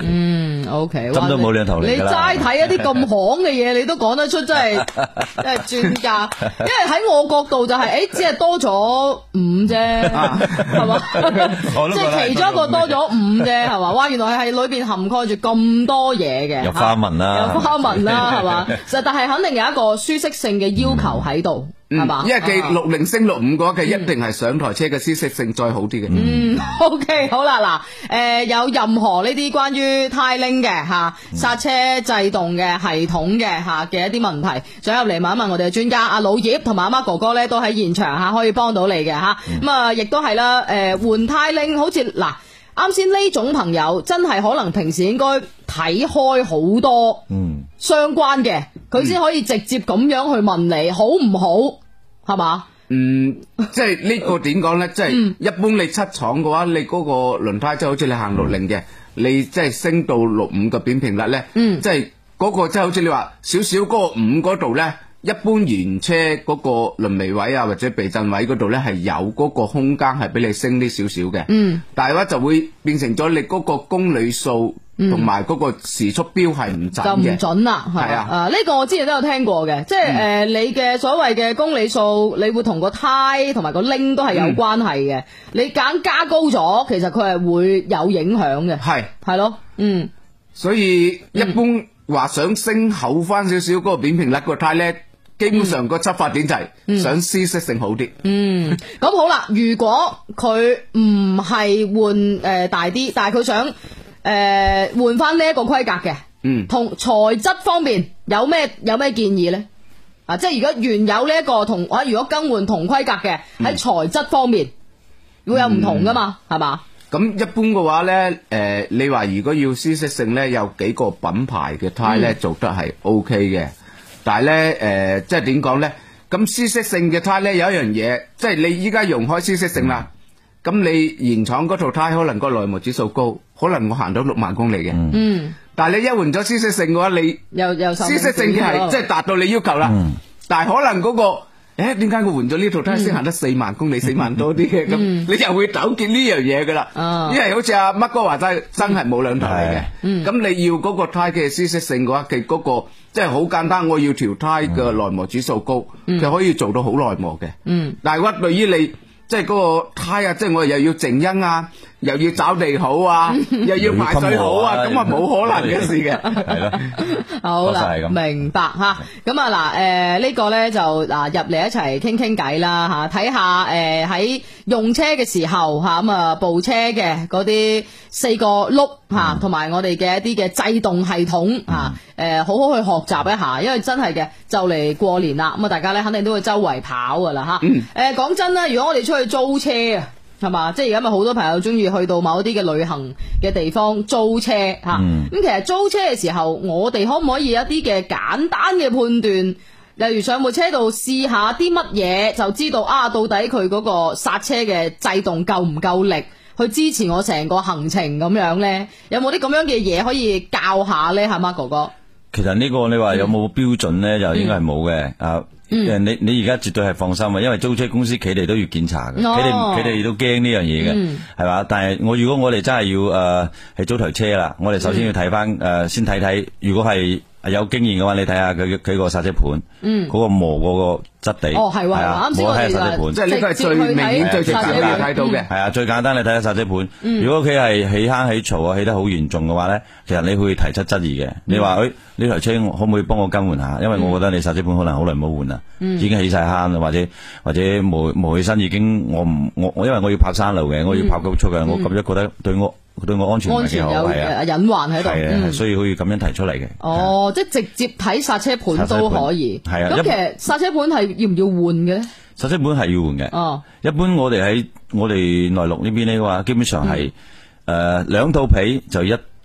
OK， 針都冇兩頭嚟㗎啦。 你齋睇一啲咁行嘅嘢，你都講得出，真係專家。因為喺我角度就係，只係多咗5啫，係嘛？即係其中一個多咗5啫，係嘛？哇，原來係裏邊涵蓋住咁多嘢嘅。 有花紋啦， 有花紋啦，係嘛？但係肯定有一個舒適性嘅要求喺度。係嘛？ 因為佢60升65嘅話，佢一定係上台車嘅舒適性再好啲嘅。 OK， 好啦，嗱，有任何呢啲關於呔鈴嘅剎車制動嘅系統嘅嘅一啲問題，想入嚟問一問我哋嘅專家阿老葉同埋阿媽哥哥咧，都喺現場可以幫到你嘅咁啊，亦都係啦，換呔鈴，好似嗱，啱先呢種朋友真係可能平時應該睇開好多相關嘅，佢先可以直接咁樣去問你好唔好，係嘛？ 即係呢個點講咧？即係一般你出廠嘅話，你嗰個輪胎即係好似你行60嘅，你即係升到65嘅扁平率咧，即係嗰個即係好似你話少少嗰個5嗰度咧。一般原車嗰個輪眉位啊或者避震位嗰度咧係有嗰個空間係俾你升啲少少嘅，但係話就會變成咗你嗰個公里數同埋嗰個時速標係唔準嘅， 就唔準啦，係啊，呢個我之前都有聽過嘅，即係你嘅所謂嘅公里數，你會同個胎同埋個鈴都係有關係嘅，你揀加高咗，其實佢係會有影響嘅，係咯， 所以一般話想升厚翻少少嗰個扁平率個胎咧。基本上個出發點就係想舒適性好啲。 咁好啦，如果佢唔係換大啲，但係佢想換翻呢一個規格嘅，同材質方面有咩建議咧？即係如果原有呢一個如果更換同規格嘅，喺材質方面會有唔同噶嘛？係嘛？ 咁一般嘅話咧，你話如果要舒適性咧，有幾個品牌嘅胎咧做得係 OK 嘅。但係咧，即係點講咧？咁舒適性嘅胎咧有一樣嘢，即係你依家用開舒適性啦。咁你原廠嗰套胎可能個耐磨指數高，可能我行到6萬公里嘅。但係你一換咗舒適性嘅話，你又舒適性係即係達到你要求啦。但係可能嗰個，點解我換咗呢套胎先行得4萬公里，4萬多啲嘅？咁你又會糾結呢樣嘢噶啦。因為好似阿乜哥話齋，真係冇兩頭嚟嘅。咁你要嗰個胎嘅舒適性嘅話，佢嗰個。即係好簡單，我要條胎嘅耐磨指數高，就可以做到好耐磨嘅。但係話對於你即係嗰個胎啊，即係我又要靜音啊，又要找地好啊，又要排水好啊，咁啊冇可能嘅事嘅。 係咯， 好啦，明白吓。咁啊嗱，呢個咧就入嚟一齊傾傾偈啦吓，睇下喺用車嘅時候吓，咁啊部車嘅嗰啲4個轆吓，同埋我哋嘅一啲嘅制動系統吓，好好去學習一下，因為真係嘅就嚟過年啦，咁啊大家咧肯定都會周圍跑噶啦吓。講真啦，如果我哋出去租車啊，係嘛，即係而家咪好多朋友中意去到某一啲嘅旅行嘅地方租車吓。咁其實租車嘅時候，我哋可唔可以有一啲嘅簡單嘅判斷？例如上部車度試下啲乜嘢，就知道到底佢嗰個剎車嘅制動夠唔夠力，去支持我成個行程咁樣咧？有冇啲咁樣嘅嘢可以教下咧？係嘛，哥哥？ 其實呢個你話有冇標準咧，就應該係冇嘅。你而家絕對係放心啊，因為租車公司佢哋都要檢查嘅，佢哋都驚呢樣嘢嘅，係嘛？但係如果我哋真係要係租台車啦，我哋首先要睇翻先睇，如果係有經驗嘅話，你睇下佢個剎車盤，嗰個磨嗰個質地， 係啊， 磨睇下剎車盤，即係呢個係最明顯、最直接你睇到嘅。 係啊，最簡單你睇下剎車盤。如果佢係起坑起槽啊，起得好嚴重嘅話咧，其實你會提出質疑嘅。你話呢台車可唔可以幫我更換下？因為我覺得你剎車盤可能好耐冇換啦，已經起晒坑，或者磨起身已經我因為我要跑山路嘅，我要跑高速嘅，我咁樣覺得對我安全唔係幾好，係啊， 隱患喺度， 係所以可以咁樣提出嚟嘅。 即係直接睇剎車盤都可以。係啊，咁其實剎車盤係要唔要換嘅咧？ 剎車盤係要換嘅。一般我哋喺我哋內陸呢邊呢嘅話，基本上係2套皮就一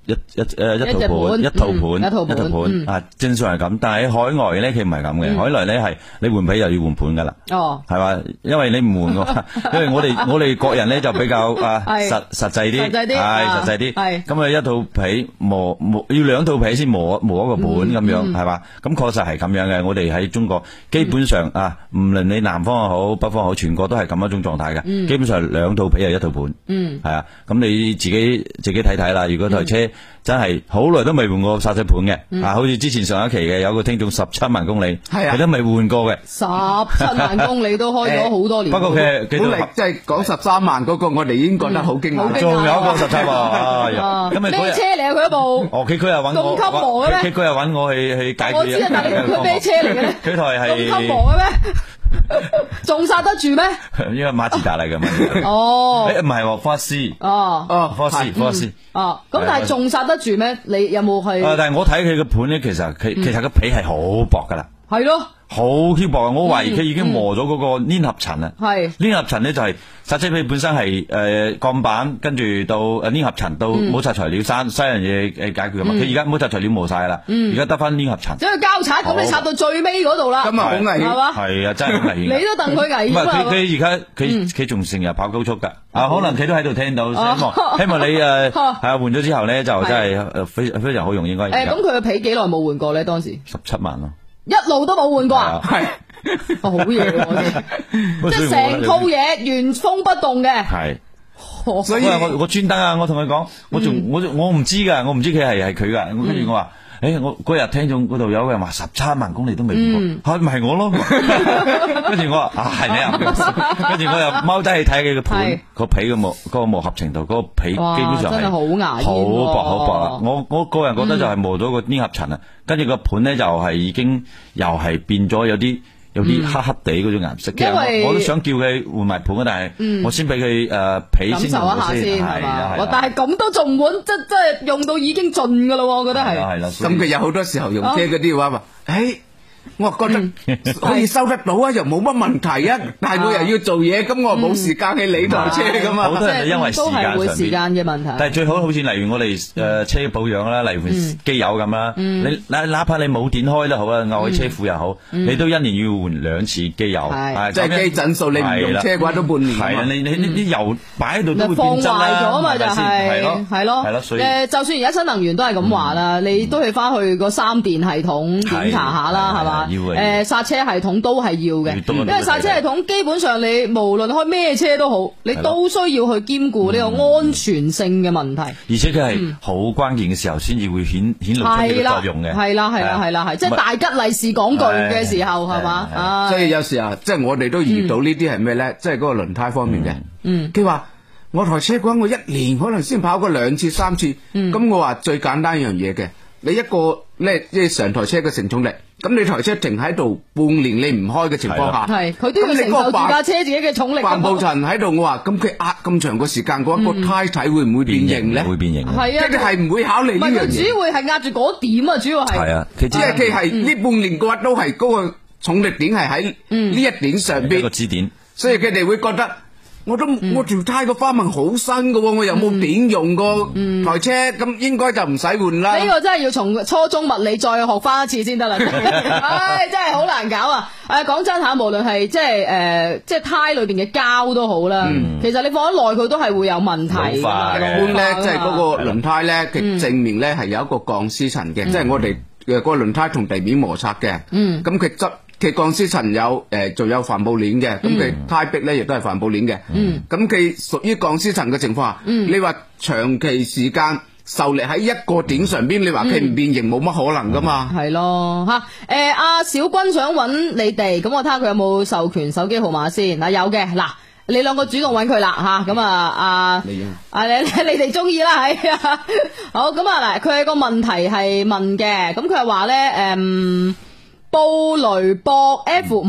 一套盤啊，正常係咁，但係喺海外咧佢唔係咁嘅，海外咧係你換皮又要換盤噶啦，係嘛？因為你唔換嘅話，因為我哋國人咧就比較實際啲，係實際啲，咁啊一套皮磨要兩套皮先磨一個盤咁樣，係嘛？咁確實係咁樣嘅，我哋喺中國基本上啊，唔論你南方又好北方好，全國都係咁一種狀態嘅，基本上兩套皮係一套盤，係啊，咁你自己睇睇啦，如果台車真係好耐都未換過剎車盤嘅，好似之前上一期嘅有個聽眾17萬公里，佢都未換過嘅。 17萬公里都開咗好多年。 不過佢本嚟即係講13萬嗰個，我哋已經覺得好驚訝。 仲有一個17喎， 咩車嚟啊？佢一部佢又揾我， 咁級磨嘅咩？ 佢又揾我去解決。 我知啊，但係佢咩車嚟嘅咧？ 佢台係咁級磨嘅咩？仲剎得住咩？ 因為馬自達嚟嘅嘛。唔係科斯。科斯。 咁但係仲剎得住咩？你有冇去？ 但係我睇佢個盤咧，其實個皮係好薄噶啦。 係咯。 好輕薄啊！我懷疑佢已經磨咗嗰個粘合層啦。粘合層咧就係剎車皮本身係鋼板，跟住到粘合層到摩擦材料三樣嘢解決噶嘛。佢而家摩擦材料磨晒啦，而家得翻粘合層。 即係交叉咁，你剎到最尾嗰度啦。 咁啊好危險係嘛？ 係啊，真係好危險。 你都戥佢危險啊！ 佢而家佢仲成日跑高速噶，可能佢都喺度聽到。希望你係換咗之後咧，就真係非常好用應該。 咁佢嘅皮幾耐冇換過咧？當時 17萬咯。 一路都冇換過啊！ 係好嘢喎，即係成套嘢原封不動嘅。 係，所以我專登啊！我同佢講，我唔知噶，我唔知佢係佢噶。跟住我話，我嗰日聽眾嗰度有個人話17萬公里都未換過，咪係我咯。跟住我話係你啊！跟住我又踎低去睇佢個盤個皮嘅嗰個磨合程度，嗰個皮基本上係好牙煙， 好薄啊！我個人覺得就係磨咗個粘合層啊，跟住個盤咧就係已經又係變咗有啲黑黑地嗰種顏色。其實我都想叫佢換埋盤，但係我先俾佢皮先感受一下先，係嘛？ 但係咁都仲唔換，即係用到已經盡噶咯，我覺得係。 係啦， 咁佢有好多時候用車嗰啲話，我覺得可以收得到啊，又冇乜問題啊，但係我又要做嘢，咁我冇時間去理台車噶嘛。 好多人因為都係會時間嘅問題。 但係最好好似例如我哋車保養啦，例如機油咁啦，你哪怕你冇點開都好啦，漚喺車庫又好，你都一年要換2次機油。 即係機陣數，你唔用車嘅話都半年。 係啊，你啲油擺喺度都會放變質壞咗嘛，就係咯。 所以就算而家新能源都係咁話啦，你都去翻去個3電系統檢查下啦，係嘛？剎車系統都係要嘅，因為剎車系統基本上你無論開咩車都好，你都需要去兼顧呢個安全性嘅問題。 而且佢係好關鍵嘅時候先至會顯露出呢個作用嘅。 係啦，即係大吉利是講句嘅時候係嘛？ 所以有時候即係我哋都遇到呢啲係咩咧？即係嗰個輪胎方面嘅。佢話我台車嘅話，我1年可能先跑過2次3次。咁我話最簡單一樣嘢嘅，你一個咧即係成台車嘅承重力。咁你台車停喺度半年你唔開嘅情況下， 佢都要承受住架車自己嘅重力。 帆布層喺度，我話咁佢壓咁長個時間，嗰個胎體會唔會變形咧？ 會變形。 係啊， 即係唔會考慮呢樣嘢。 主要會係壓住嗰點啊，主要係。 係啊， 即係佢係呢半年嘅話，都係嗰個重力點係喺呢一點上邊。 個支點。 所以佢哋會覺得。我條胎個花紋好新噶，我又冇點用過台車，咁應該就唔使換啦。 呢個真係要從初中物理再學翻一次先得啦。真係好難搞啊！講真吓，無論係即係胎裏邊嘅膠都好啦，其實你放得耐佢都係會有問題。 一般咧，即係嗰個輪胎咧，佢正面咧係有一個鋼絲層嘅，即係我哋嘅個輪胎同地面摩擦嘅。咁佢佢鋼絲層有仲有帆布鏈嘅，咁佢胎壁咧亦都係帆布鏈嘅。咁佢屬於鋼絲層嘅情況下，你話長期時間受力喺一個點上邊，你話佢唔變形冇乜可能噶嘛？ 係咯吓。阿小君想揾你哋，咁我睇下佢有冇授權手機號碼先。嗱，有嘅，嗱你兩個主動揾佢啦吓。咁你哋中意啦，係啊。好，咁嗱，佢有個問題係問嘅，咁佢係話咧布雷博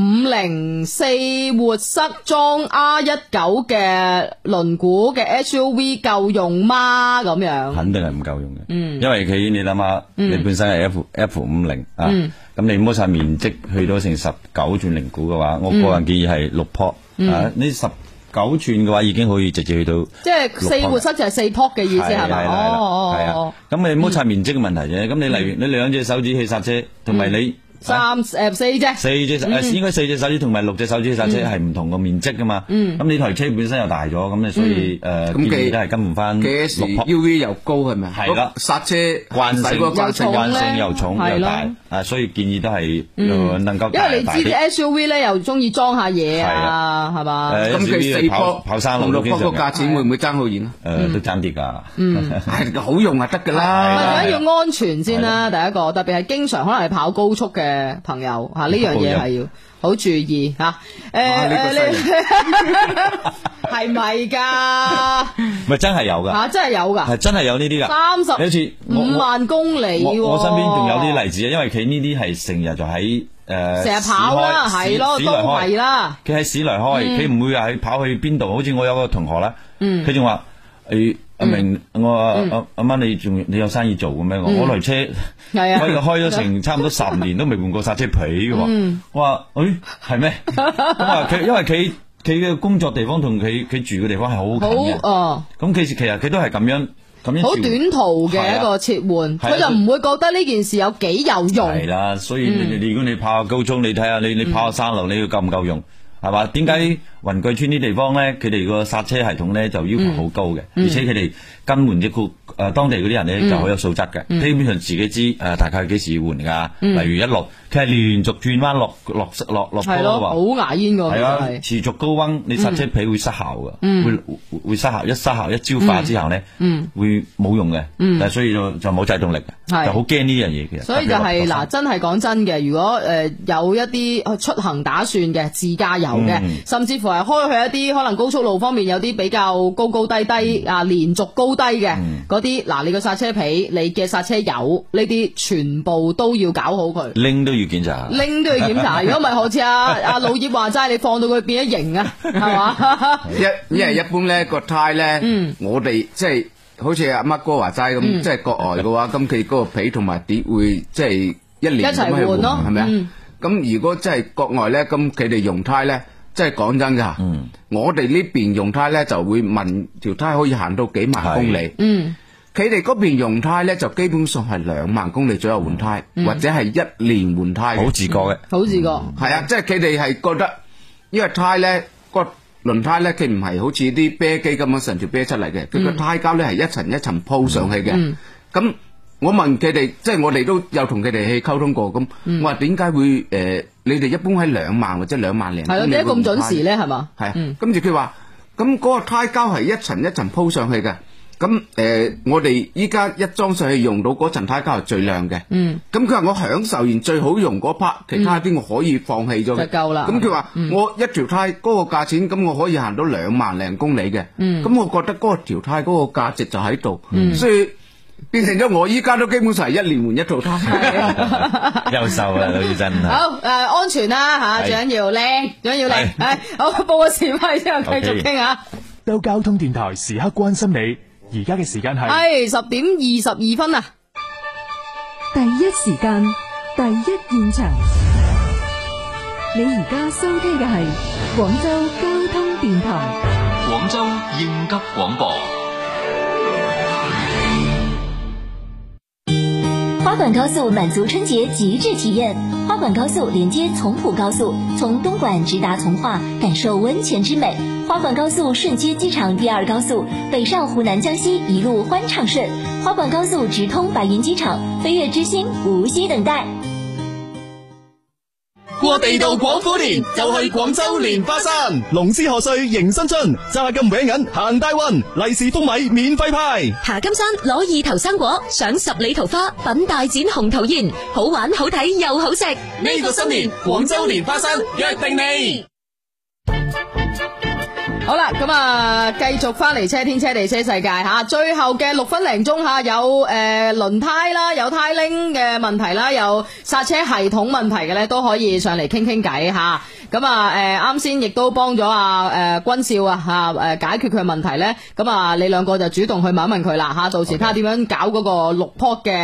F504 活塞裝 R19 嘅輪毂嘅 SUV 夠用嗎？咁樣肯定係唔夠用嘅，因為佢你諗下，你本身係 F50啊，咁你摩擦面積去到成19轉0股嘅話，我個人建議係6坡啊，呢 9寸嘅話已經可以直接去到， 即係4活塞就係4撲嘅意思係咪？哦， 咁你唔好拆面積嘅問題啫。咁你例如你2隻手指去剎車，同埋你。 4隻應該4隻手指同埋6隻手指剎車係唔同個面積噶嘛。咁你台車本身又大咗，咁你所以建議都係跟唔翻6撲。 UV 又高係咪？ 係啦， 剎車慣性又重又大，所以建議都係能夠。 因為你知啲 SUV 咧又中意裝下嘢啊，係嘛？ 咁佢4撲跑山路同6撲個價錢會唔會爭好遠啊？ 都爭啲㗎。 係好用就得㗎啦。 最緊要安全先啦，第一個特別係經常可能係跑高速嘅朋友吓，呢樣嘢係要好注意吓。係咪噶？ 咪真係有噶吓，真係有噶， 係真係有呢啲噶。 35萬公里， 我身邊仲有啲例子啊，因為佢呢啲係成日就喺成日跑啦，係咯，都係啦。 佢喺市內開，佢唔會話去跑去邊度。好似我有個同學啦，佢仲話阿明，我阿媽你有生意做嘅咩？我台車開咗成差唔多10年都未換過剎車皮嘅。我話係咩？因為佢嘅工作地方同佢住嘅地方係好近嘅。咁其實佢都係咁樣好短途嘅一個切換，佢就唔會覺得呢件事有幾有用。 係啦，所以如果你跑高速，你睇下你跑下山路，你要夠唔夠用？係嘛？點解雲貴村啲地方咧，佢哋個剎車系統咧就要求好高嘅，而且佢哋更換啲當地嗰啲人咧就好有素質嘅，基本上自己知大概幾時要換㗎。例如一落，佢係連續轉彎落坡嘅喎， 好牙煙㗎。 係啊，持續高溫，你剎車皮會失效嘅，會失效，一失效一焦化之後咧，會冇用嘅。但係所以就冇制動力，就好驚呢樣嘢其實。 所以就係嗱，真係講真嘅，如果有一啲出行打算嘅自駕遊嘅，甚至乎係開去一啲可能高速路方面有啲比較高低啊，連續高低嘅嗰啲，嗱，你個剎車皮、你嘅剎車油呢啲全部都要搞好佢， 拎都要檢查， 如果唔係好似阿老葉話齋，你放到佢變咗形啊，係嘛？ 因為一般咧個胎咧，我哋即係好似阿乜哥話齋咁，即係國外嘅話，咁佢嗰個皮同埋碟會即係一年咁去換咯，係咪啊？咁如果真係國外咧，咁佢哋用胎咧，即係講真噶，我哋呢邊用胎咧就會問條胎可以行到幾萬公里，佢哋嗰邊用胎咧就基本上係2萬公里左右換胎，或者係1年換胎， 好自覺嘅， 係啊，即係佢哋係覺得，因為胎咧個輪胎咧，佢唔係好似啲啤機咁樣成條啤出嚟嘅，佢個胎膠咧係一層一層鋪上去嘅，咁。我問佢哋，即係我哋都有同佢哋去溝通過，咁我話點解會你哋一般喺2萬或者2萬零？ 係咯，點解咁準時咧？係嘛？ 係，跟住佢話，咁嗰個胎膠係一層一層鋪上去嘅，咁我哋依家一裝上去用到嗰層胎膠係最靚嘅，咁佢話我享受完最好用嗰 part，其他啲我可以放棄咗，就夠啦。 咁佢話我一條胎嗰個價錢，咁我可以行到2萬零公里嘅，咁我覺得嗰條胎嗰個價值就喺度，所以。變成咗我依家都基本上係1年換一套胎， 優秀啊，老師真係。 好安全啦吓，最緊要靚，最緊要靚。好，報個時費之後繼續傾下。 到交通電台時刻關心你，而家嘅時間係10點22分啊！ 第一時間，第一現場，你而家收聽嘅係廣州交通電台， 廣州應急廣播。 花莞高速滿足春節極致體驗，花莞高速連接從普高速，從東莞直達從化，感受溫泉之美。花莞高速順接機場第2高速，北上湖南江西一路歡暢順。花莞高速直通白雲機場，飛躍之星無需等待。 過地道廣府年就去廣州蓮花山， 龍獅賀歲迎新春，揸金搲銀行大運，利是封米免費派。 爬金山攞2頭生果，賞10里桃花，品大展紅桃宴，好玩好睇又好食。 呢個新年廣州蓮花山約定你。 好啦，咁繼續翻嚟車天車地車世界吓，最後嘅6分零鐘吓，有輪胎啦，有胎鈴嘅問題啦，有剎車系統問題嘅咧，都可以上嚟傾傾偈吓。咁啱先亦都幫咗君少解決佢嘅問題咧。咁你兩個就主動去問一問佢啦吓，到時睇下點樣搞嗰個6坡嘅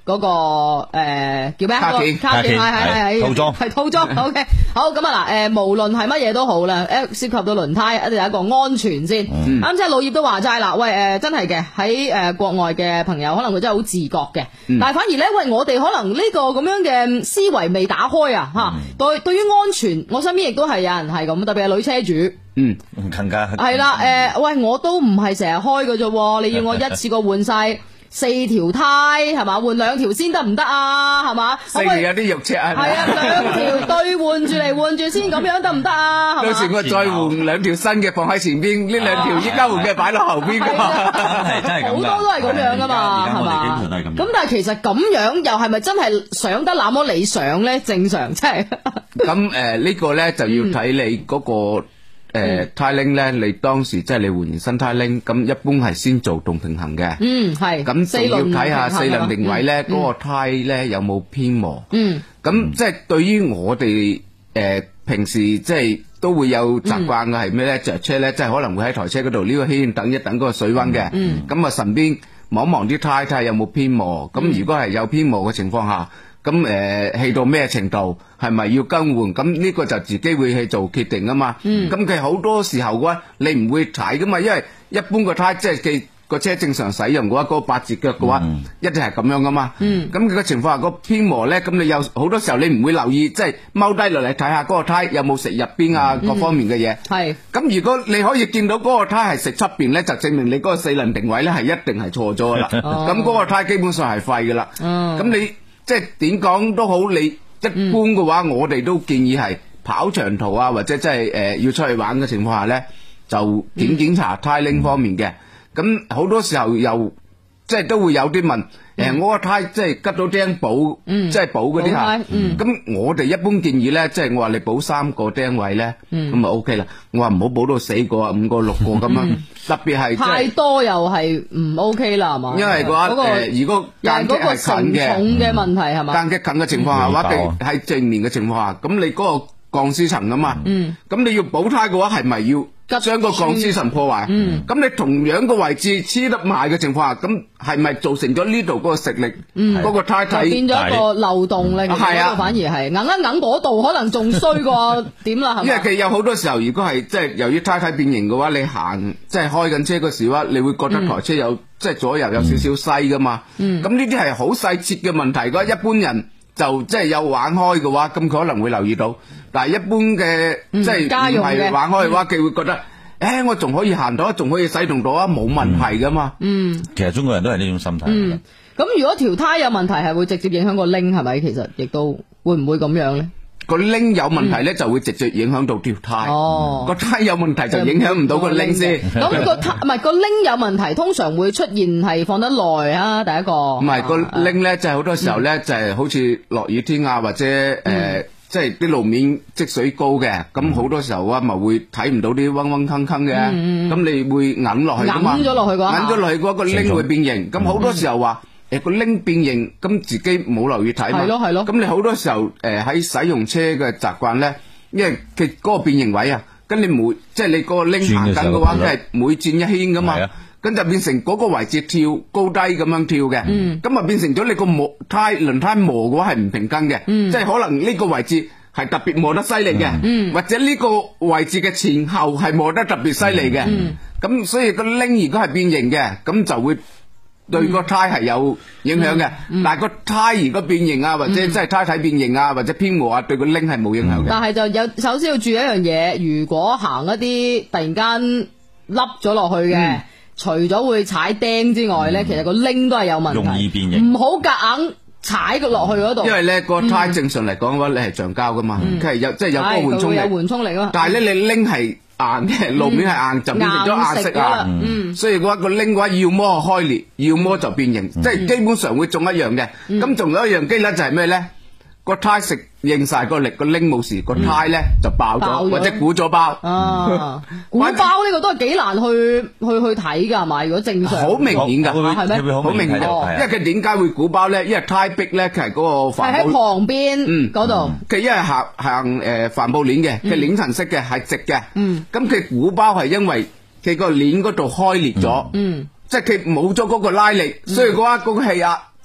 嗰個叫咩？ 卡鉗係套裝係套裝。OK， 好咁啊嗱，無論係乜嘢都好啦，涉及到輪胎一定有一個安全先。啱先老葉都話齋啦，喂真係嘅，喺國外嘅朋友可能佢真係好自覺嘅，但係反而咧，喂我哋可能呢個咁樣嘅思維未打開啊嚇。對於安全，我身邊亦都係有人係咁，特別係女車主。 更加係啦，喂我都唔係成日開嘅啫，你要我一次過換晒4條胎係嘛？換2條先得唔得啊？係嘛？4條有啲肉赤係咪？ 係啊，2條對換住嚟換住先咁樣得唔得啊？ 到時我再換2條新嘅放喺前邊，呢2條依家換嘅擺落後邊㗎嘛。 真係好多都係咁樣㗎嘛，係嘛？咁但係其實咁樣又係咪真係想得那麼理想咧？正常即係。 咁呢個咧就要睇你嗰個。胎鈴咧，你當時即係你換完新胎鈴，咁一般係先做動平衡嘅。 係。 咁仲要睇下4輪定位咧，嗰個胎咧有冇偏磨。咁即係對於我哋平時即係都會有習慣嘅係咩咧？着車咧，即係可能會喺台車嗰度呢個圈等一等嗰個水溫嘅。咁啊，順便望望啲胎睇下有冇偏磨。咁如果係有偏磨嘅情況下，咁氣到咩程度，係咪要更換？咁呢個就自己會去做決定啊嘛。咁佢好多時候嘅話，你唔會睇噶嘛，因為一般個胎即係佢個車正常使用嘅話，嗰個8節腳嘅話，一定係咁樣噶嘛。咁佢嘅情況下個偏磨咧，咁你有好多時候你唔會留意，即係踎低落嚟睇下嗰個胎有冇食入邊啊，各方面嘅嘢。係。咁如果你可以見到嗰個胎係食出邊咧，就證明你嗰個4輪定位咧係一定係錯咗噶啦。咁嗰個胎基本上係廢噶啦。咁你即係點講都好，你一般嘅話，我哋都建議係跑長途啊，或者即係要出去玩嘅情況下咧，就檢查胎鈴方面嘅。咁好多時候又即係都會有啲問，我個胎即係吉到釘補，即係補嗰啲嚇。咁我哋一般建議咧，即係我話你補3個釘位咧，咁就 OK 啦。我話唔好補到4個啊、5個、6個咁樣，特別係太多又係唔 OK 啦，係嘛？ 因為嘅話如果間隙係近嘅， 重嘅問題係嘛？ 間隙近嘅情況下，或者喺正面嘅情況下，咁你嗰個鋼絲層啊嘛，咁你要補胎嘅話，係咪要將個鋼絲層破壞？咁你同樣個位置黐得埋嘅情況下，咁係咪造成咗呢度嗰個食力，嗰個胎體變咗一個漏洞咧？係啊，反而係硬一硬嗰度可能仲衰過點啦，係咪？ 因為佢有好多時候，如果係即係由於胎體變形嘅話，你行即係開緊車嗰時話，你會覺得台車有即係左右有少少西噶嘛。咁呢啲係好細節嘅問題。如果一般人就即係有玩開嘅話，咁佢可能會留意到。但係一般嘅即係唔係玩開嘅話，佢會覺得，我仲可以行到，仲可以使用到啊，冇問題噶嘛。 其實中國人都係呢種心態。 咁如果條胎有問題，係會直接影響個鈴，係咪？其實亦都會唔會咁樣咧？ 個鈴有問題咧，就會直接影響到條胎。個胎有問題就影響唔到個鈴先。 咁個胎唔係個鈴有問題，通常會出現係放得耐啊。第一個唔係個鈴咧，就係好多時候咧，就係好似落雨天啊，或者即係啲路面積水高嘅，咁好多時候啊，咪會睇唔到啲嗡嗡坑坑嘅，咁你會揞落去噶嘛？ 揞咗落去嘅話， 揞咗落去嘅話，個鈴會變形。咁好多時候話個鈴變形，咁自己冇留意睇嘛。係咯。咁你好多時候喺使用車嘅習慣咧，因為佢嗰個變形位啊，跟你每即係你個鈴行緊嘅話，佢係每轉一圈噶嘛。咁就變成嗰個位置跳高低咁樣跳嘅，咁啊變成咗你個輪胎磨嘅話係唔平均嘅，即係可能呢個位置係特別磨得犀利嘅，或者呢個位置嘅前後係磨得特別犀利嘅，咁所以個鈴如果係變形嘅，咁就會對個胎係有影響嘅。但係個胎如果變形啊，或者即係胎體變形啊，或者偏磨啊，對個鈴係冇影響嘅。 但係就有首先要注意一樣嘢，如果行一啲突然間凹咗落去嘅。除咗會踩釘之外咧，其實個鈴都係有問題， 容易變形。 唔好夾硬踩佢落去嗰度。 因為咧個胎正常嚟講嘅話，你係橡膠噶嘛，佢係有即係有嗰個緩衝力。 有緩衝力啊。 但係咧你鈴係硬嘅，路面係硬，就變成咗硬色啊。所以嘅話個鈴嘅話，要麼開裂，要麼就變形，即係基本上會中一樣嘅。咁仲有一樣機咧就係咩咧？個胎食應晒個力，個鈴冇事，個胎咧就爆咗或者鼓咗包。 鼓包呢個都係幾難去睇噶，係咪？如果正常， 好明顯噶， 係咩？ 好明顯，因為佢點解會鼓包咧？因為胎壁咧，佢係嗰個帆布， 係喺旁邊嗰度。 佢因為行帆布鏈嘅，佢鏈層式嘅係直嘅。咁佢鼓包係因為佢個鏈嗰度開裂咗。即係佢冇咗嗰個拉力，所以嘅話嗰個氣壓即係。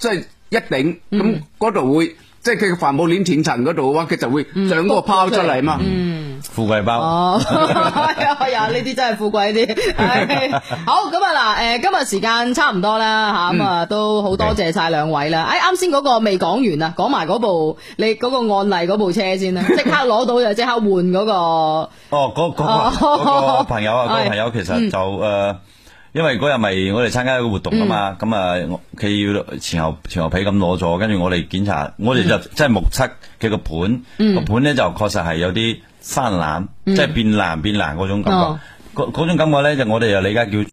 一頂，咁嗰度會即係佢嘅帆布鏈斷層嗰度嘅話，佢就會長嗰個泡出嚟嘛。 富貴包。 哦，係啊，呢啲真係富貴啲。好，咁啊嗱，今日時間差唔多啦吓，咁啊都好多謝晒兩位啦。啱先嗰個未講完啊，講埋嗰部你嗰個案例嗰部車先啦，即刻攞到就即刻換嗰個。 哦，嗰個朋友啊，嗰個朋友其實就因為嗰日咪我哋參加一個活動啊嘛，咁啊佢要前後皮咁攞咗，跟住我哋檢查，我哋就真係目測佢個盤，個盤咧就確實係有啲翻藍，即係變藍嗰種感覺，嗰種感覺咧就我哋就理解叫